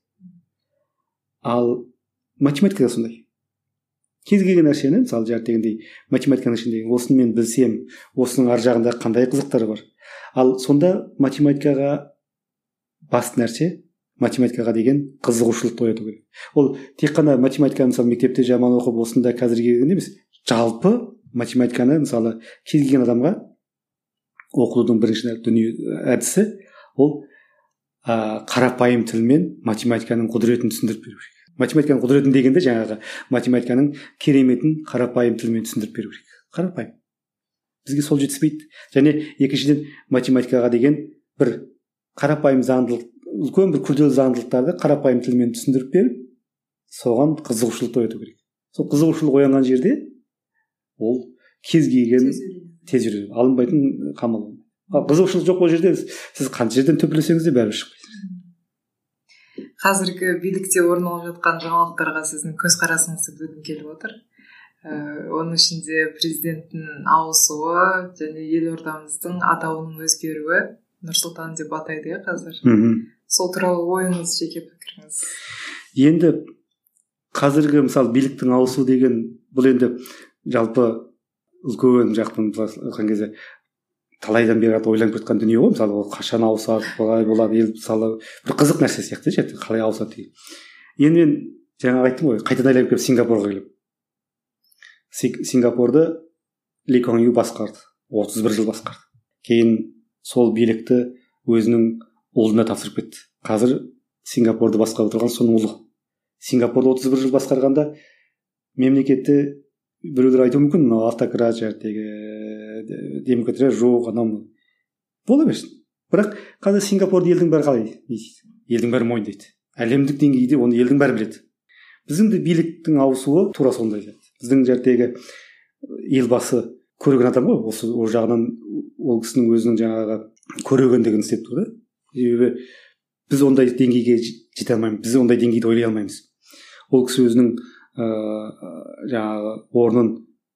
Speaker 3: Ал математикада сондай. Кез келген нәрсені, мысалы, дегендей математиканың ішіндегі осыны мен білсем, осының ар жағында қандай қызықтары бар. Ал сонда математикаға басты нәрсе, математикаға деген қызығушылықты ояту керек. Ол тек қана математиканы мысалы мектепте жаман оқып осында қазір келген емес. Жалпы математиканы мысалы кез келген адамға оқудың бірінші дүние әдісі ол ә, қарапайым тілмен математиканың құдіретін түсіндіріп беру керек. Математиканың құдіретін дегенде жаңағы математиканың кереметін қарапайым тілмен түсіндіріп беру керек. Қарапайым. Бізге сол жетіспейді. Және екіншіден математикаға деген бір қарапайым заңдылық, үлкен бір күрделі заңдылықтарды қарапайым тілмен түсіндіріп беріп, соған қызығушылықты ояту керек. Сол қызығушылық оянған жерде ол кез келген тез үйренеді. Алынбайтын қамал. Ал қызығушылық жоқ ол жерде сіз қанша жерден төпелесеңіз де бәрібір шықпайсыз.
Speaker 2: Қазіргі билікте орын алып жатқан жаңалықтарға сіздің көзқарасыңызды білгім келіп отыр. Ә, оның ішінде президенттің ауысуы және елордамыздың атауының өзгеруі, Нұрсұлтан деп атайды иә қазір. Мхм. Сол туралы ойыңыз, жеке пікіріңіз?
Speaker 3: Енді қазіргі мысалы биліктің ауысу деген бұл енді жалпы үлкен жақтың айтқан кезде талайдан бері ойланып жатқан дүние ғой. Мысалы ол қашан ауысады, қалай болады, ел мысалы бір қызық нәрсе сияқты ше, қалай ауысады деген. Енді мен жаңа айттым ғой, қайтадан айналып келіп Сингапурға келіп. Сингапурды Ли Куан Ю басқарды, отыз бір жыл басқарды. Кейін сол билікті өзінің ұлына тапсырып кетті. Қазір Сингапурды басқарып отырған соның ұлы. Сингапурды отыз бір жыл басқарғанда мемлекетті біреулер айтуы мүмкін, мынау автократия, демократия жоқ, анау бола берсін. Бірақ қазір Сингапурды елдің бәрі қалай дейді? Елдің бәрі мойындайды. Әлемдік деңгейде оны елдің бәрі біледі. Біздің де биліктің ауысуы тура сондай сияқты. Біздің жердегі елбасы көреген адам ғой, осы ол жағынан ол кісінің өзінің жаңағы көрегендігін істеп тұр да. Себебі біз ондай деңгейге жете алмаймыз, біз ондай деңгейде ойлай алмаймыз. Ол кісі өзінің ыыы жаңағы орнын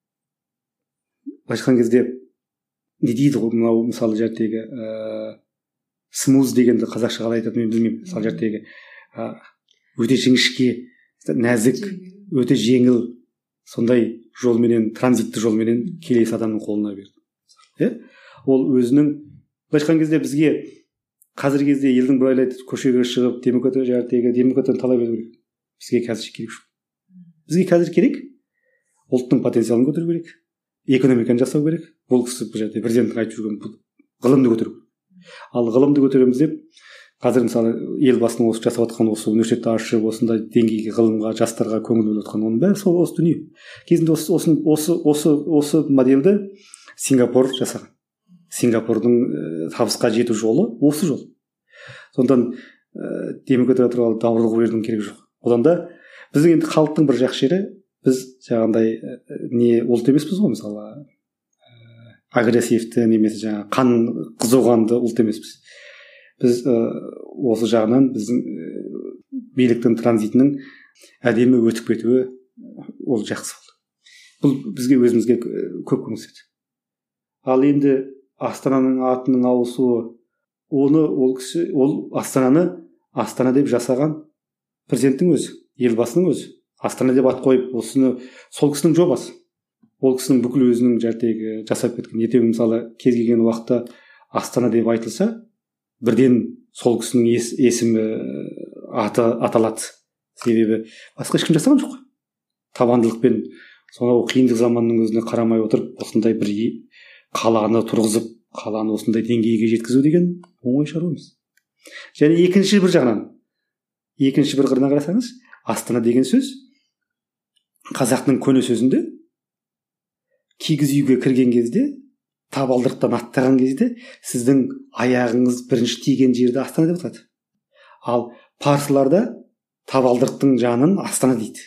Speaker 3: айтқан кезде не дейді ғой, мынау мысалы жердегі ыыы смуз дегенді қазақша қалай айтатынын мен білмеймін. Мысалы жердегі өте жіңішке, нәзік, өте жеңіл сондай жолменен, транзитті жолменен келесі адамның қолына берді. Иә? Ол өзінің айтқан кезде бізге қазіргі кезде елдің бір айлайды көшеге шығып демократия жәрдегі демократияны талап ету керек. Бізге қазір керек жоқ. бізге қазір керек ұлттың потенциалын көтеру керек, экономиканы жасау керек. Бұл кісі бұл жерде президенттің айтып жүрген бұл ғылымды көтеру. Ал ғылымды көтереміз деп қазір мысалы елбасының осы жасап жатқан осы университетті ашып осындай деңгейге ғылымға жастарға көңіл бөліп жатқан оның бәрі сол осы дүние. Кезінде осы осы осы осы осы модельді Сингапур жасаған. Сингапурдың ә, табысқа жету жолы осы жол. Сондан ә, демократия туралы даурығып берудің керегі жоқ. Одан да біздің енді халықтың бір жақсы жері, біз жаңағындай ә, не ұлт емеспіз ғой, мысалы ә, агрессивті немесе жаңағы қан қызуғанды ұлт емеспіз. Біз ә, осы жағынан біздің ә, биліктің транзитінің әдемі өтіп кетуі ол жақсы болды. Бұл бізге өзімізге көп көмектеседі. Ал енді Астананың атының ауысуы, оны ол кісі, ол Астананы Астана деп жасаған президенттің өзі, елбасының өзі. Астана деп ат қойып, осыны сол кісінің жобасы. Ол кісінің бүкіл өзінің жәрдегі жасап кеткен. Ертең мысалы кез келген уақытта Астана деп айтылса, бірден сол кісінің ес, есімі аты аталады. Себебі басқа ешкім жасаған жоқ. Табандылықпен сонау қиындық заманның өзіне қарамай отырып, осындай бір қаланы тұрғызып, қаланы осындай деңгейге жеткізу деген оңай шаруа емес. Және екінші бір жағынан, екінші бір қырынан қарасаңыз, Астана деген сөз қазақтың көне сөзінде кигіз үйге кірген кезде, табалдырықтан аттаған кезде сіздің аяғыңыз бірінші тиген жерді Астана деп атады. Ал парсыларда табалдырықтың жанын Астана дейді.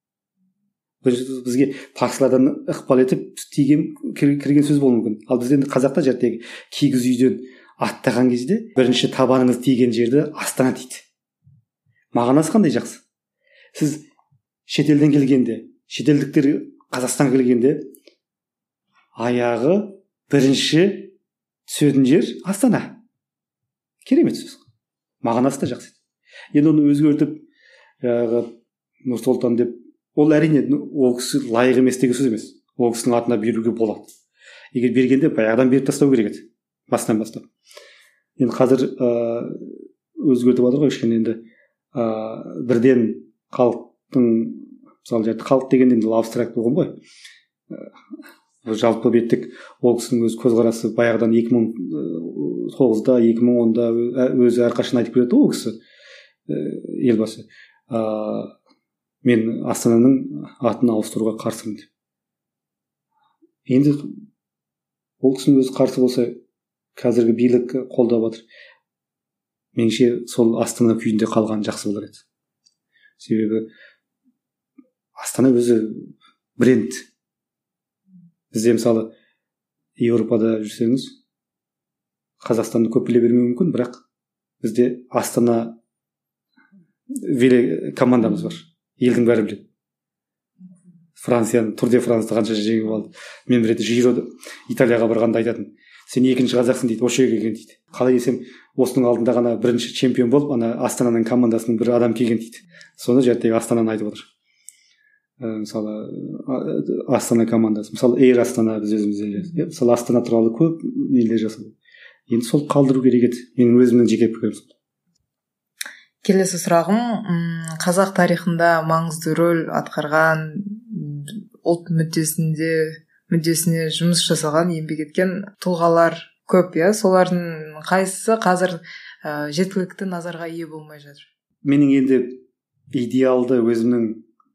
Speaker 3: Бізге парсылардан ықпал етіп тиген кірген сөз болуы мүмкін. Ал бізде енді қазақта жәрдегі кигіз үйден аттаған кезде бірінші табаныңыз тиген жерді Астана дейді. Мағынасы қандай жақсы. Сіз шетелден келгенде, шетелдіктер Қазақстанға келгенде аяғы бірінші түсетін жер Астана. Керемет сөз. Мағынасы да жақсы. Енді оны өзгертіп жаңағы Нұрсұлтан деп, ол әрине ол кісі лайық емес деген сөз емес. Ол кісінің атына беруге болады. Егер бергенде баяғыдан беріп тастау керек еді. Басынан бастап. Енді қазір ә, өзгертіп жатыр ғой кішкене енді ә, бірден халықтың, мысалы жерде халық деген енді абстракт болған ғой. Ә, жалпы беттік ол кісінің өз көзқарасы баяғыдан екі мың тоғызда, екі мың онда өзі әрқашан айтып келеді ол кісі ә, елбасы. Ә, мен Астананың атын ауыстыруға қарсымын деп. Енді ол кісінің өзі қарсы болса, қазіргі билік қолдап жатыр. Меніңше сол Астана күйінде қалған жақсы болар еді. Себебі Астана өзі бренд. Бізде мысалы Еуропада жүрсеңіз, Қазақстанды көп біле бермеуі мүмкін, бірақ бізде Астана веле командамыз бар. Елдің бәрі біледі. Францияны, Тур де Франсты қанша жеңіп алды. Мен бір рет Жирода Италияға барғанда айтатын. Сен екінші қазақсың дейді, осы жерге келген дейді. Қалай десем, осының алдында ғана бірінші чемпион болып, ана Астананың командасының бір адам келген дейді. Соны жәрдегі Астананы айтып отыр. Ә, мысалы Астана командасы, мысалы Эйр Астана біз өзімізде. Мысалы Астана туралы көп нелер жасады. Енді сол қалдыру керек еді. Менің өзімнің жеке пікірім сол.
Speaker 2: Келесі сұрағым, қазақ тарихында маңызды рөл атқарған, ұлт мүддесінде мүддесіне жұмыс жасаған, еңбек еткен тұлғалар көп, иә? Солардың қайсысы қазір ә, жеткілікті назарға ие болмай жатыр?
Speaker 3: Менің енді идеалды өзімнің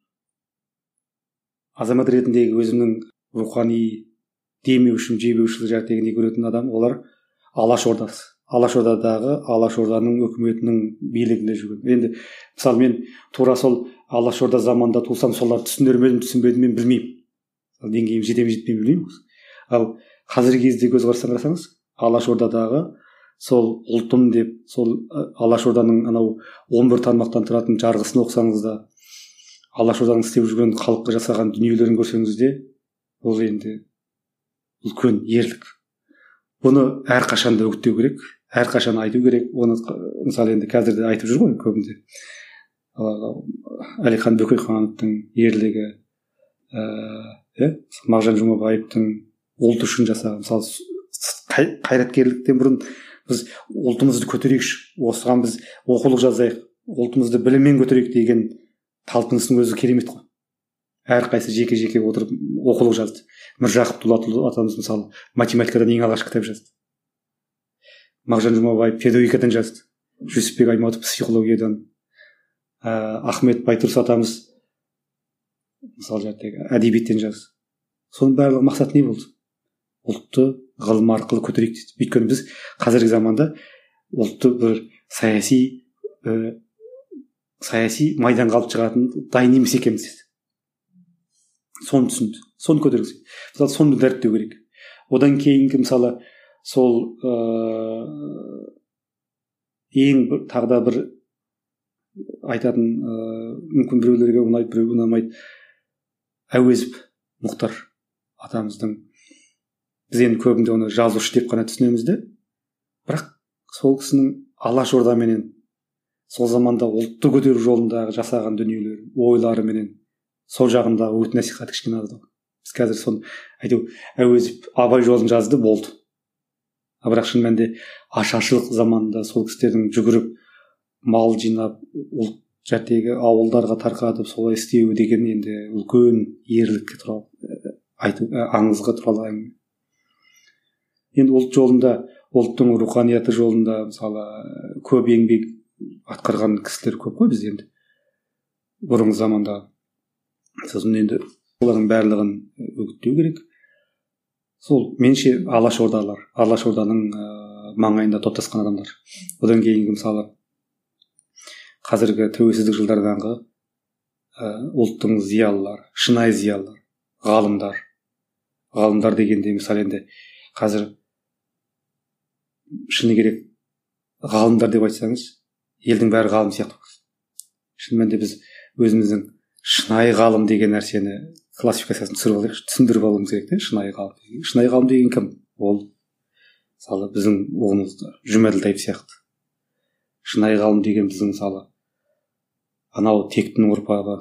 Speaker 3: азамат ретіндегі өзімнің рухани демеушім, жебеушілік жәрдегіне көретін адам, олар Алаш Ордасы. Алашордадағы Алашорданың өкіметінің билігінде жүрген. Енді мысалы мен тура сол Алашорда заманда тусам, солар түсінер ме едім, түсінбедім, мен білмеймін. Деңгейім жете ме жетпей білмеймін. Ал қазіргі кезде көзқарастан қарасаңыз, Алашордадағы сол ұлтым деп, сол Алашорданың анау он бір тармақтан тұратын жарғысын оқысаңыз да, Алашорданың істеп жүрген халыққа жасаған дүниелерін көрсеңіз де, ол енді үлкен ерлік. Бұны әрқашан да үгіттеу керек. Әрқашан айту керек. Оны мысалы енді қазір де айтып жүр ғой көбінде. Әлихан Бөкейхановтың ерлігі, ә, Мағжан Жұмабаевтың ұлт үшін жасаған, мысалы қайраткерліктен бұрын біз ұлтымызды көтерейікші, осыған біз оқулық жазайық, ұлтымызды біліммен көтерейік деген талпыныстың өзі керемет қой. әрқайсысы жеке жеке отырып оқулық жазды. Міржақып Дулатұлы атамыз мысалы математикадан ең алғаш кітап жазды. Мағжан Жұмабаев педагогикадан жазды. Жүсіпбек Аймауытов психологиядан, ә, Ахмет Байтұрыс атамыз мысалы жәттегі әдебиеттен жазды. Соның барлығы мақсат не болды? Ұлтты ғылым арқылы көтерейік дейді. Өйткені біз қазіргі заманда ұлтты бір саяси ә, саяси майданға алып шығатын дайын емес екенбіз дейді. Соны түсінді. Соны көтергізді. Мысалы соны дәріптеу керек. Одан кейінгі мысалы сол ә, ең бір тағы да бір айтатын ә, мүмкін біреулерге ұнайды, біреуге ұнамайды. Әуезов Мұхтар атамыздың, біз енді көбінде оны жазушы деп қана түсінеміз де, бірақ сол кісінің Алаш Ордаменен сол заманда ұлтты көтеру жолындағы жасаған дүниелері, ойлары менен сол жағындағы өт насихаты кішкене аз. Біз қазір соны айту, Әуезов Абай жолын жазды, болды. А бірақ шын мәнінде ашаршылық заманында сол кісілердің жүгіріп мал жинап ұлт жәттегі ауылдарға тарқатып солай істеуі деген енді үлкен ерлікке туралы айту, аңызға туралы әңгіме. Енді ұлт жолында, ұлттың руханияты жолында мысалы көп еңбек атқарған кісілер көп қой біз енді бұрынғы заманда. Сосын енді олардың барлығын үгіттеу керек. Сол менше Алаш Ордалар, Алаш Орданың ә, маңайында топтасқан адамдар. Одан кейінгі мысалы қазіргі тәуелсіздік жылдардағы ә, ұлттың зиялылар, шынайы зиялылар, ғалымдар. Ғалымдар дегенде мысалы енді қазір шыны керек ғалымдар деп айтсаңыз, елдің бәрі ғалым сияқты. Шын мәнінде біз өзіміздің шынайы ғалым деген нәрсені классификациясын түсіріп алайықшы, түсіндіріп алуымыз керек те, шынайы ғалым. Шынайы ғалым деген кім? Ол мысалы біздің ұғымымызда Жұмаділдаев сияқты. Шынайы ғалым деген біздің мысалы анау тектің ұрпағы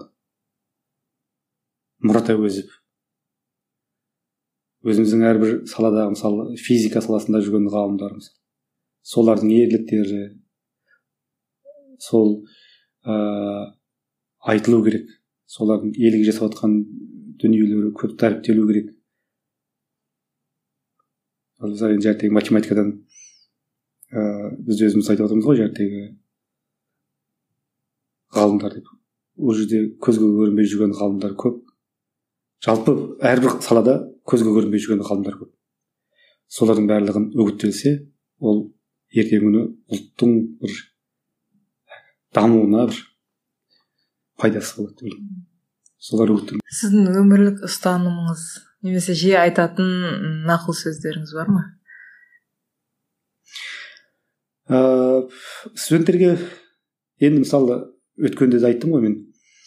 Speaker 3: Мұрат Әуезов. Өзіміздің әрбір саладағы мысалы физика саласында жүрген ғалымдарымыз. Солардың ерліктері сол ә, айтылу керек. Солардың елге жасап жатқан дүниелері көп дәріптелу керек. Ал жәттегі математикадан ә, біз өзіміз айтып отырмыз ғой, жәттегі ғалымдар деп. Ол жерде көзге көрінбей жүрген ғалымдар көп. Жалпы әрбір салада көзге көрінбей жүрген ғалымдар көп. Солардың барлығын үгіттелсе, ол ертеңгі күні ұлттың бір дамуына бір пайдасы болады. Солар үгіттеледі.
Speaker 2: Сіздің өмірлік ұстанымыңыз немесе жиі айтатын нақыл сөздеріңіз бар ма?
Speaker 3: Ә, студенттерге енді мысалы өткенде де айттым ғой мен.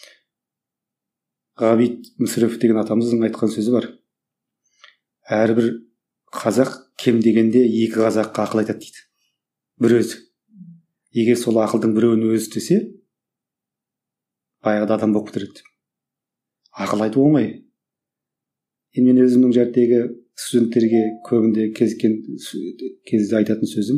Speaker 3: Ғабит Мүсірепов деген атамыздың айтқан сөзі бар. Әрбір қазақ кем дегенде екі қазаққа ақыл айтады дейді. Бір өзі. Егер сол ақылдың біреуін өзі істесе, баяғыда адам болып кетер еді. Ақыл айту оңай. Енді мен өзімнің жәрдегі студенттерге көбінде кезіккен кезде айтатын сөзім,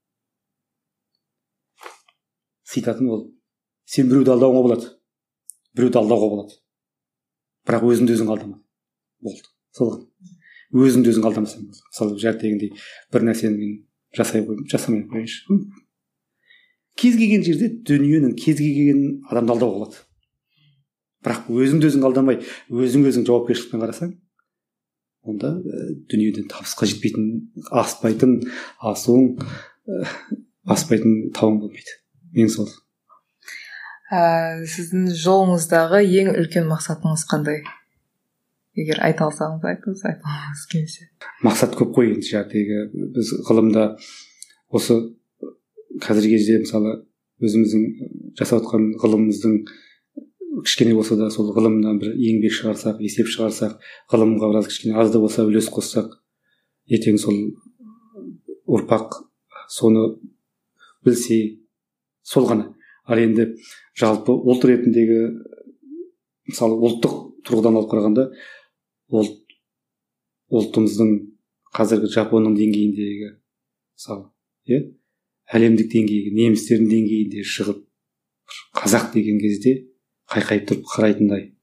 Speaker 3: цитатым ол: сен біреуді алдауға болады, біреуді алдауға болады, бірақ өзіңді өзің алдама. Болды. Сол ғана. Өзіңді өзің алдамасаң болды. Мысалы жәрдегіндей бір нәрсені мен жасай қойып, жасамай қояйыншы. Кез келген жерде дүниенің кез келген адамды алдауға болады. Бірақ өзіңді өзің алдамай, өзің өзің жауапкершілікпен қарасаң, онда ә, дүниеден табысқа жетпейтін, аспайтын асуың, ә, аспайтын тауың болмайды. Мен сол.
Speaker 2: Ә, сіздің жолыңыздағы ең үлкен мақсатыңыз қандай? Егер айта алсаңыз айтыңыз, айтыңыз келсе.
Speaker 3: Мақсат көп қой енді жәрдегі. Біз ғылымда осы қазіргі кезде мысалы өзіміздің жасап отқан ғылымымыздың кішкене болса да сол ғылымнан бір еңбек шығарсақ, есеп шығарсақ, ғылымға біраз кішкене аз да болса үлес қоссақ, ертең сол ұрпақ соны білсе, сол ғана. Ал енді жалпы ұлт ретіндегі мысалы ұлттық тұрғыдан алып қарағанда ұлт ұлтымыздың қазіргі Жапонның деңгейіндегі мысалы, иә, әлемдік деңгейге, немістердің деңгейінде шығып қазақ деген кезде қайқайып тұрып қарайтындай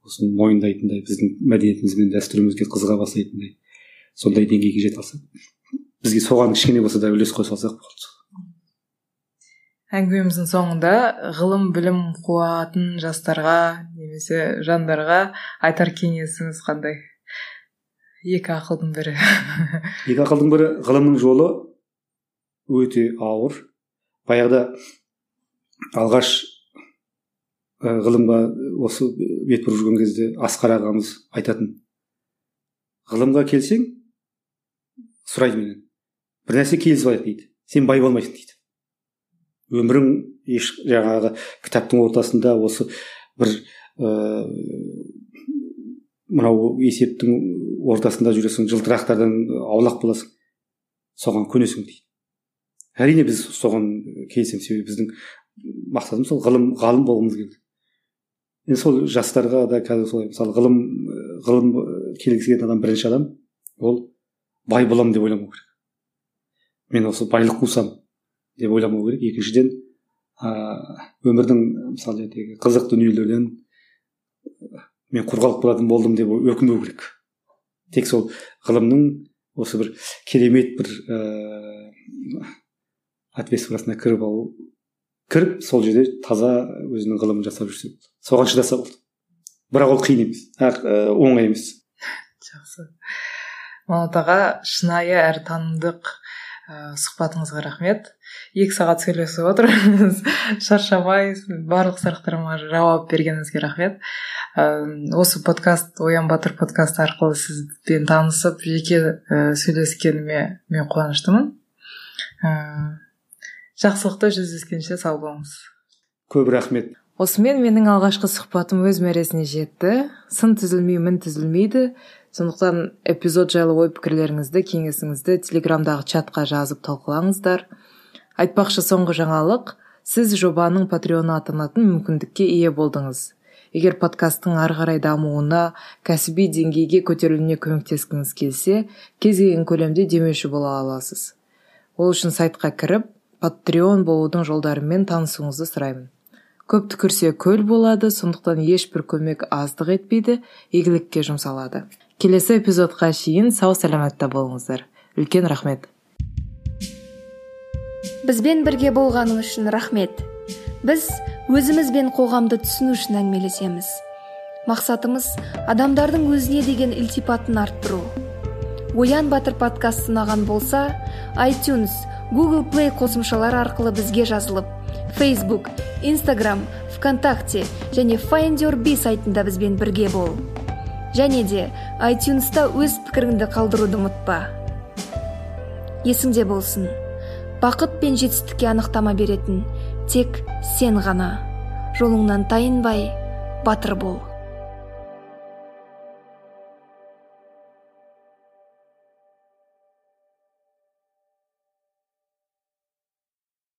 Speaker 3: осыны мойындайтындай, біздің мәдениетіміз бен дәстүрімізге қызыға бастайтындай сондай деңгейге жете алсақ, бізге соған кішкене болса да үлес қоса алсақ болды.
Speaker 2: Әңгімеміздің соңында ғылым білім қуатын жастарға немесе жандарға айтар кеңесіңіз қандай? Екі ақылдың бірі.
Speaker 3: Екі ақылдың бірі, ғылымның жолы өте ауыр. Баяғыда алғаш ғылымға осы бет бұрып жүрген кезде Асқар ағамыз айтатын: ғылымға келсең, сұрайды менен, бір нәрсе келісіп алайық дейді, сен бай болмайсың дейді. Өмірің еш жаңағы кітаптың ортасында осы бір ә, мынау есептің ортасында жүресің, жылтырақтардан аулақ боласың, соған көнесің дейді. Әрине біз соған келісеміз, себебі біздің мақсатымыз сол ғылым ғалым болғымыз келді. Енді сол жастарға да қазір солай, мысалы ғылым ғылым келгісі келген адам, бірінші адам ол бай боламын деп ойламау керек. Мен осы байлық қусам деп ойламау керек. Екіншіден, өмірдің мысалы қызық дүниелерден мен құр болатын болдым деп өкінбеу керек. Тек сол ғылымның осы бір керемет бір ә, атмосферасына кіріп алу, кіріп сол жерде таза өзінің ғылымын жасап жүрсе болды. Соған шыдаса болды. Бірақ ол қиын емес, оңай емес.
Speaker 2: Жақсы. Манат аға, шынайы әрі танымдық ә, сұхбатыңызға рахмет. Екі сағат сөйлесіп отырмыз. Шаршамай барлық сұрақтарыма жауап бергеніңізге рахмет. Осы подкаст, Оян Батыр подкасты арқылы сізбен танысып, жеке ә, сөйлескеніме мен қуаныштымын. Ә, жақсылықта жүздескенше сау болыңыз.
Speaker 3: Көп рахмет.
Speaker 2: Осымен менің алғашқы сұхбатым өз мәресіне жетті. Сын түзілмей, мін түзілмейді. Сондықтан эпизод жайлы ой пікірлеріңізді, кеңесіңізді телеграмдағы чатқа жазып талқылаңыздар. Айтпақшы, соңғы жаңалық, сіз жобаның патреоны атанатын мүмкіндікке ие болдыңыз. Егер подкасттың ары қарай дамуына, кәсіби деңгейге көтерілуіне көмектескіңіз келсе, кез келген көлемде демеуші бола аласыз. Ол үшін сайтқа кіріп, патреон болудың жолдарымен танысуыңызды сұраймын. Көп түкірсе көл болады, сондықтан ешбір көмек аздық етпейді, игілікке жұмсалады. Келесі эпизодқа шейін сау саламатта болыңыздар. Үлкен рахмет.
Speaker 1: Бізбен бірге болғаның үшін рахмет. Біз өзіміз бен қоғамды түсіну үшін әңгімелесеміз. Мақсатымыз адамдардың өзіне деген ілтипатын арттыру. Оян Батыр подкасты ұнаған болса, iTunes, Google Play қосымшалары арқылы бізге жазылып, Facebook, Instagram, ВКонтакте және Find Your Bee сайтында бізбен бірге бол. Және де iTunes-та өз пікіріңді қалдыруды ұмытпа. Есіңде болсын, бақыт пен жетістікке анықтама беретін тек сен ғана. Жолыңнан тайынбай, батыр бол.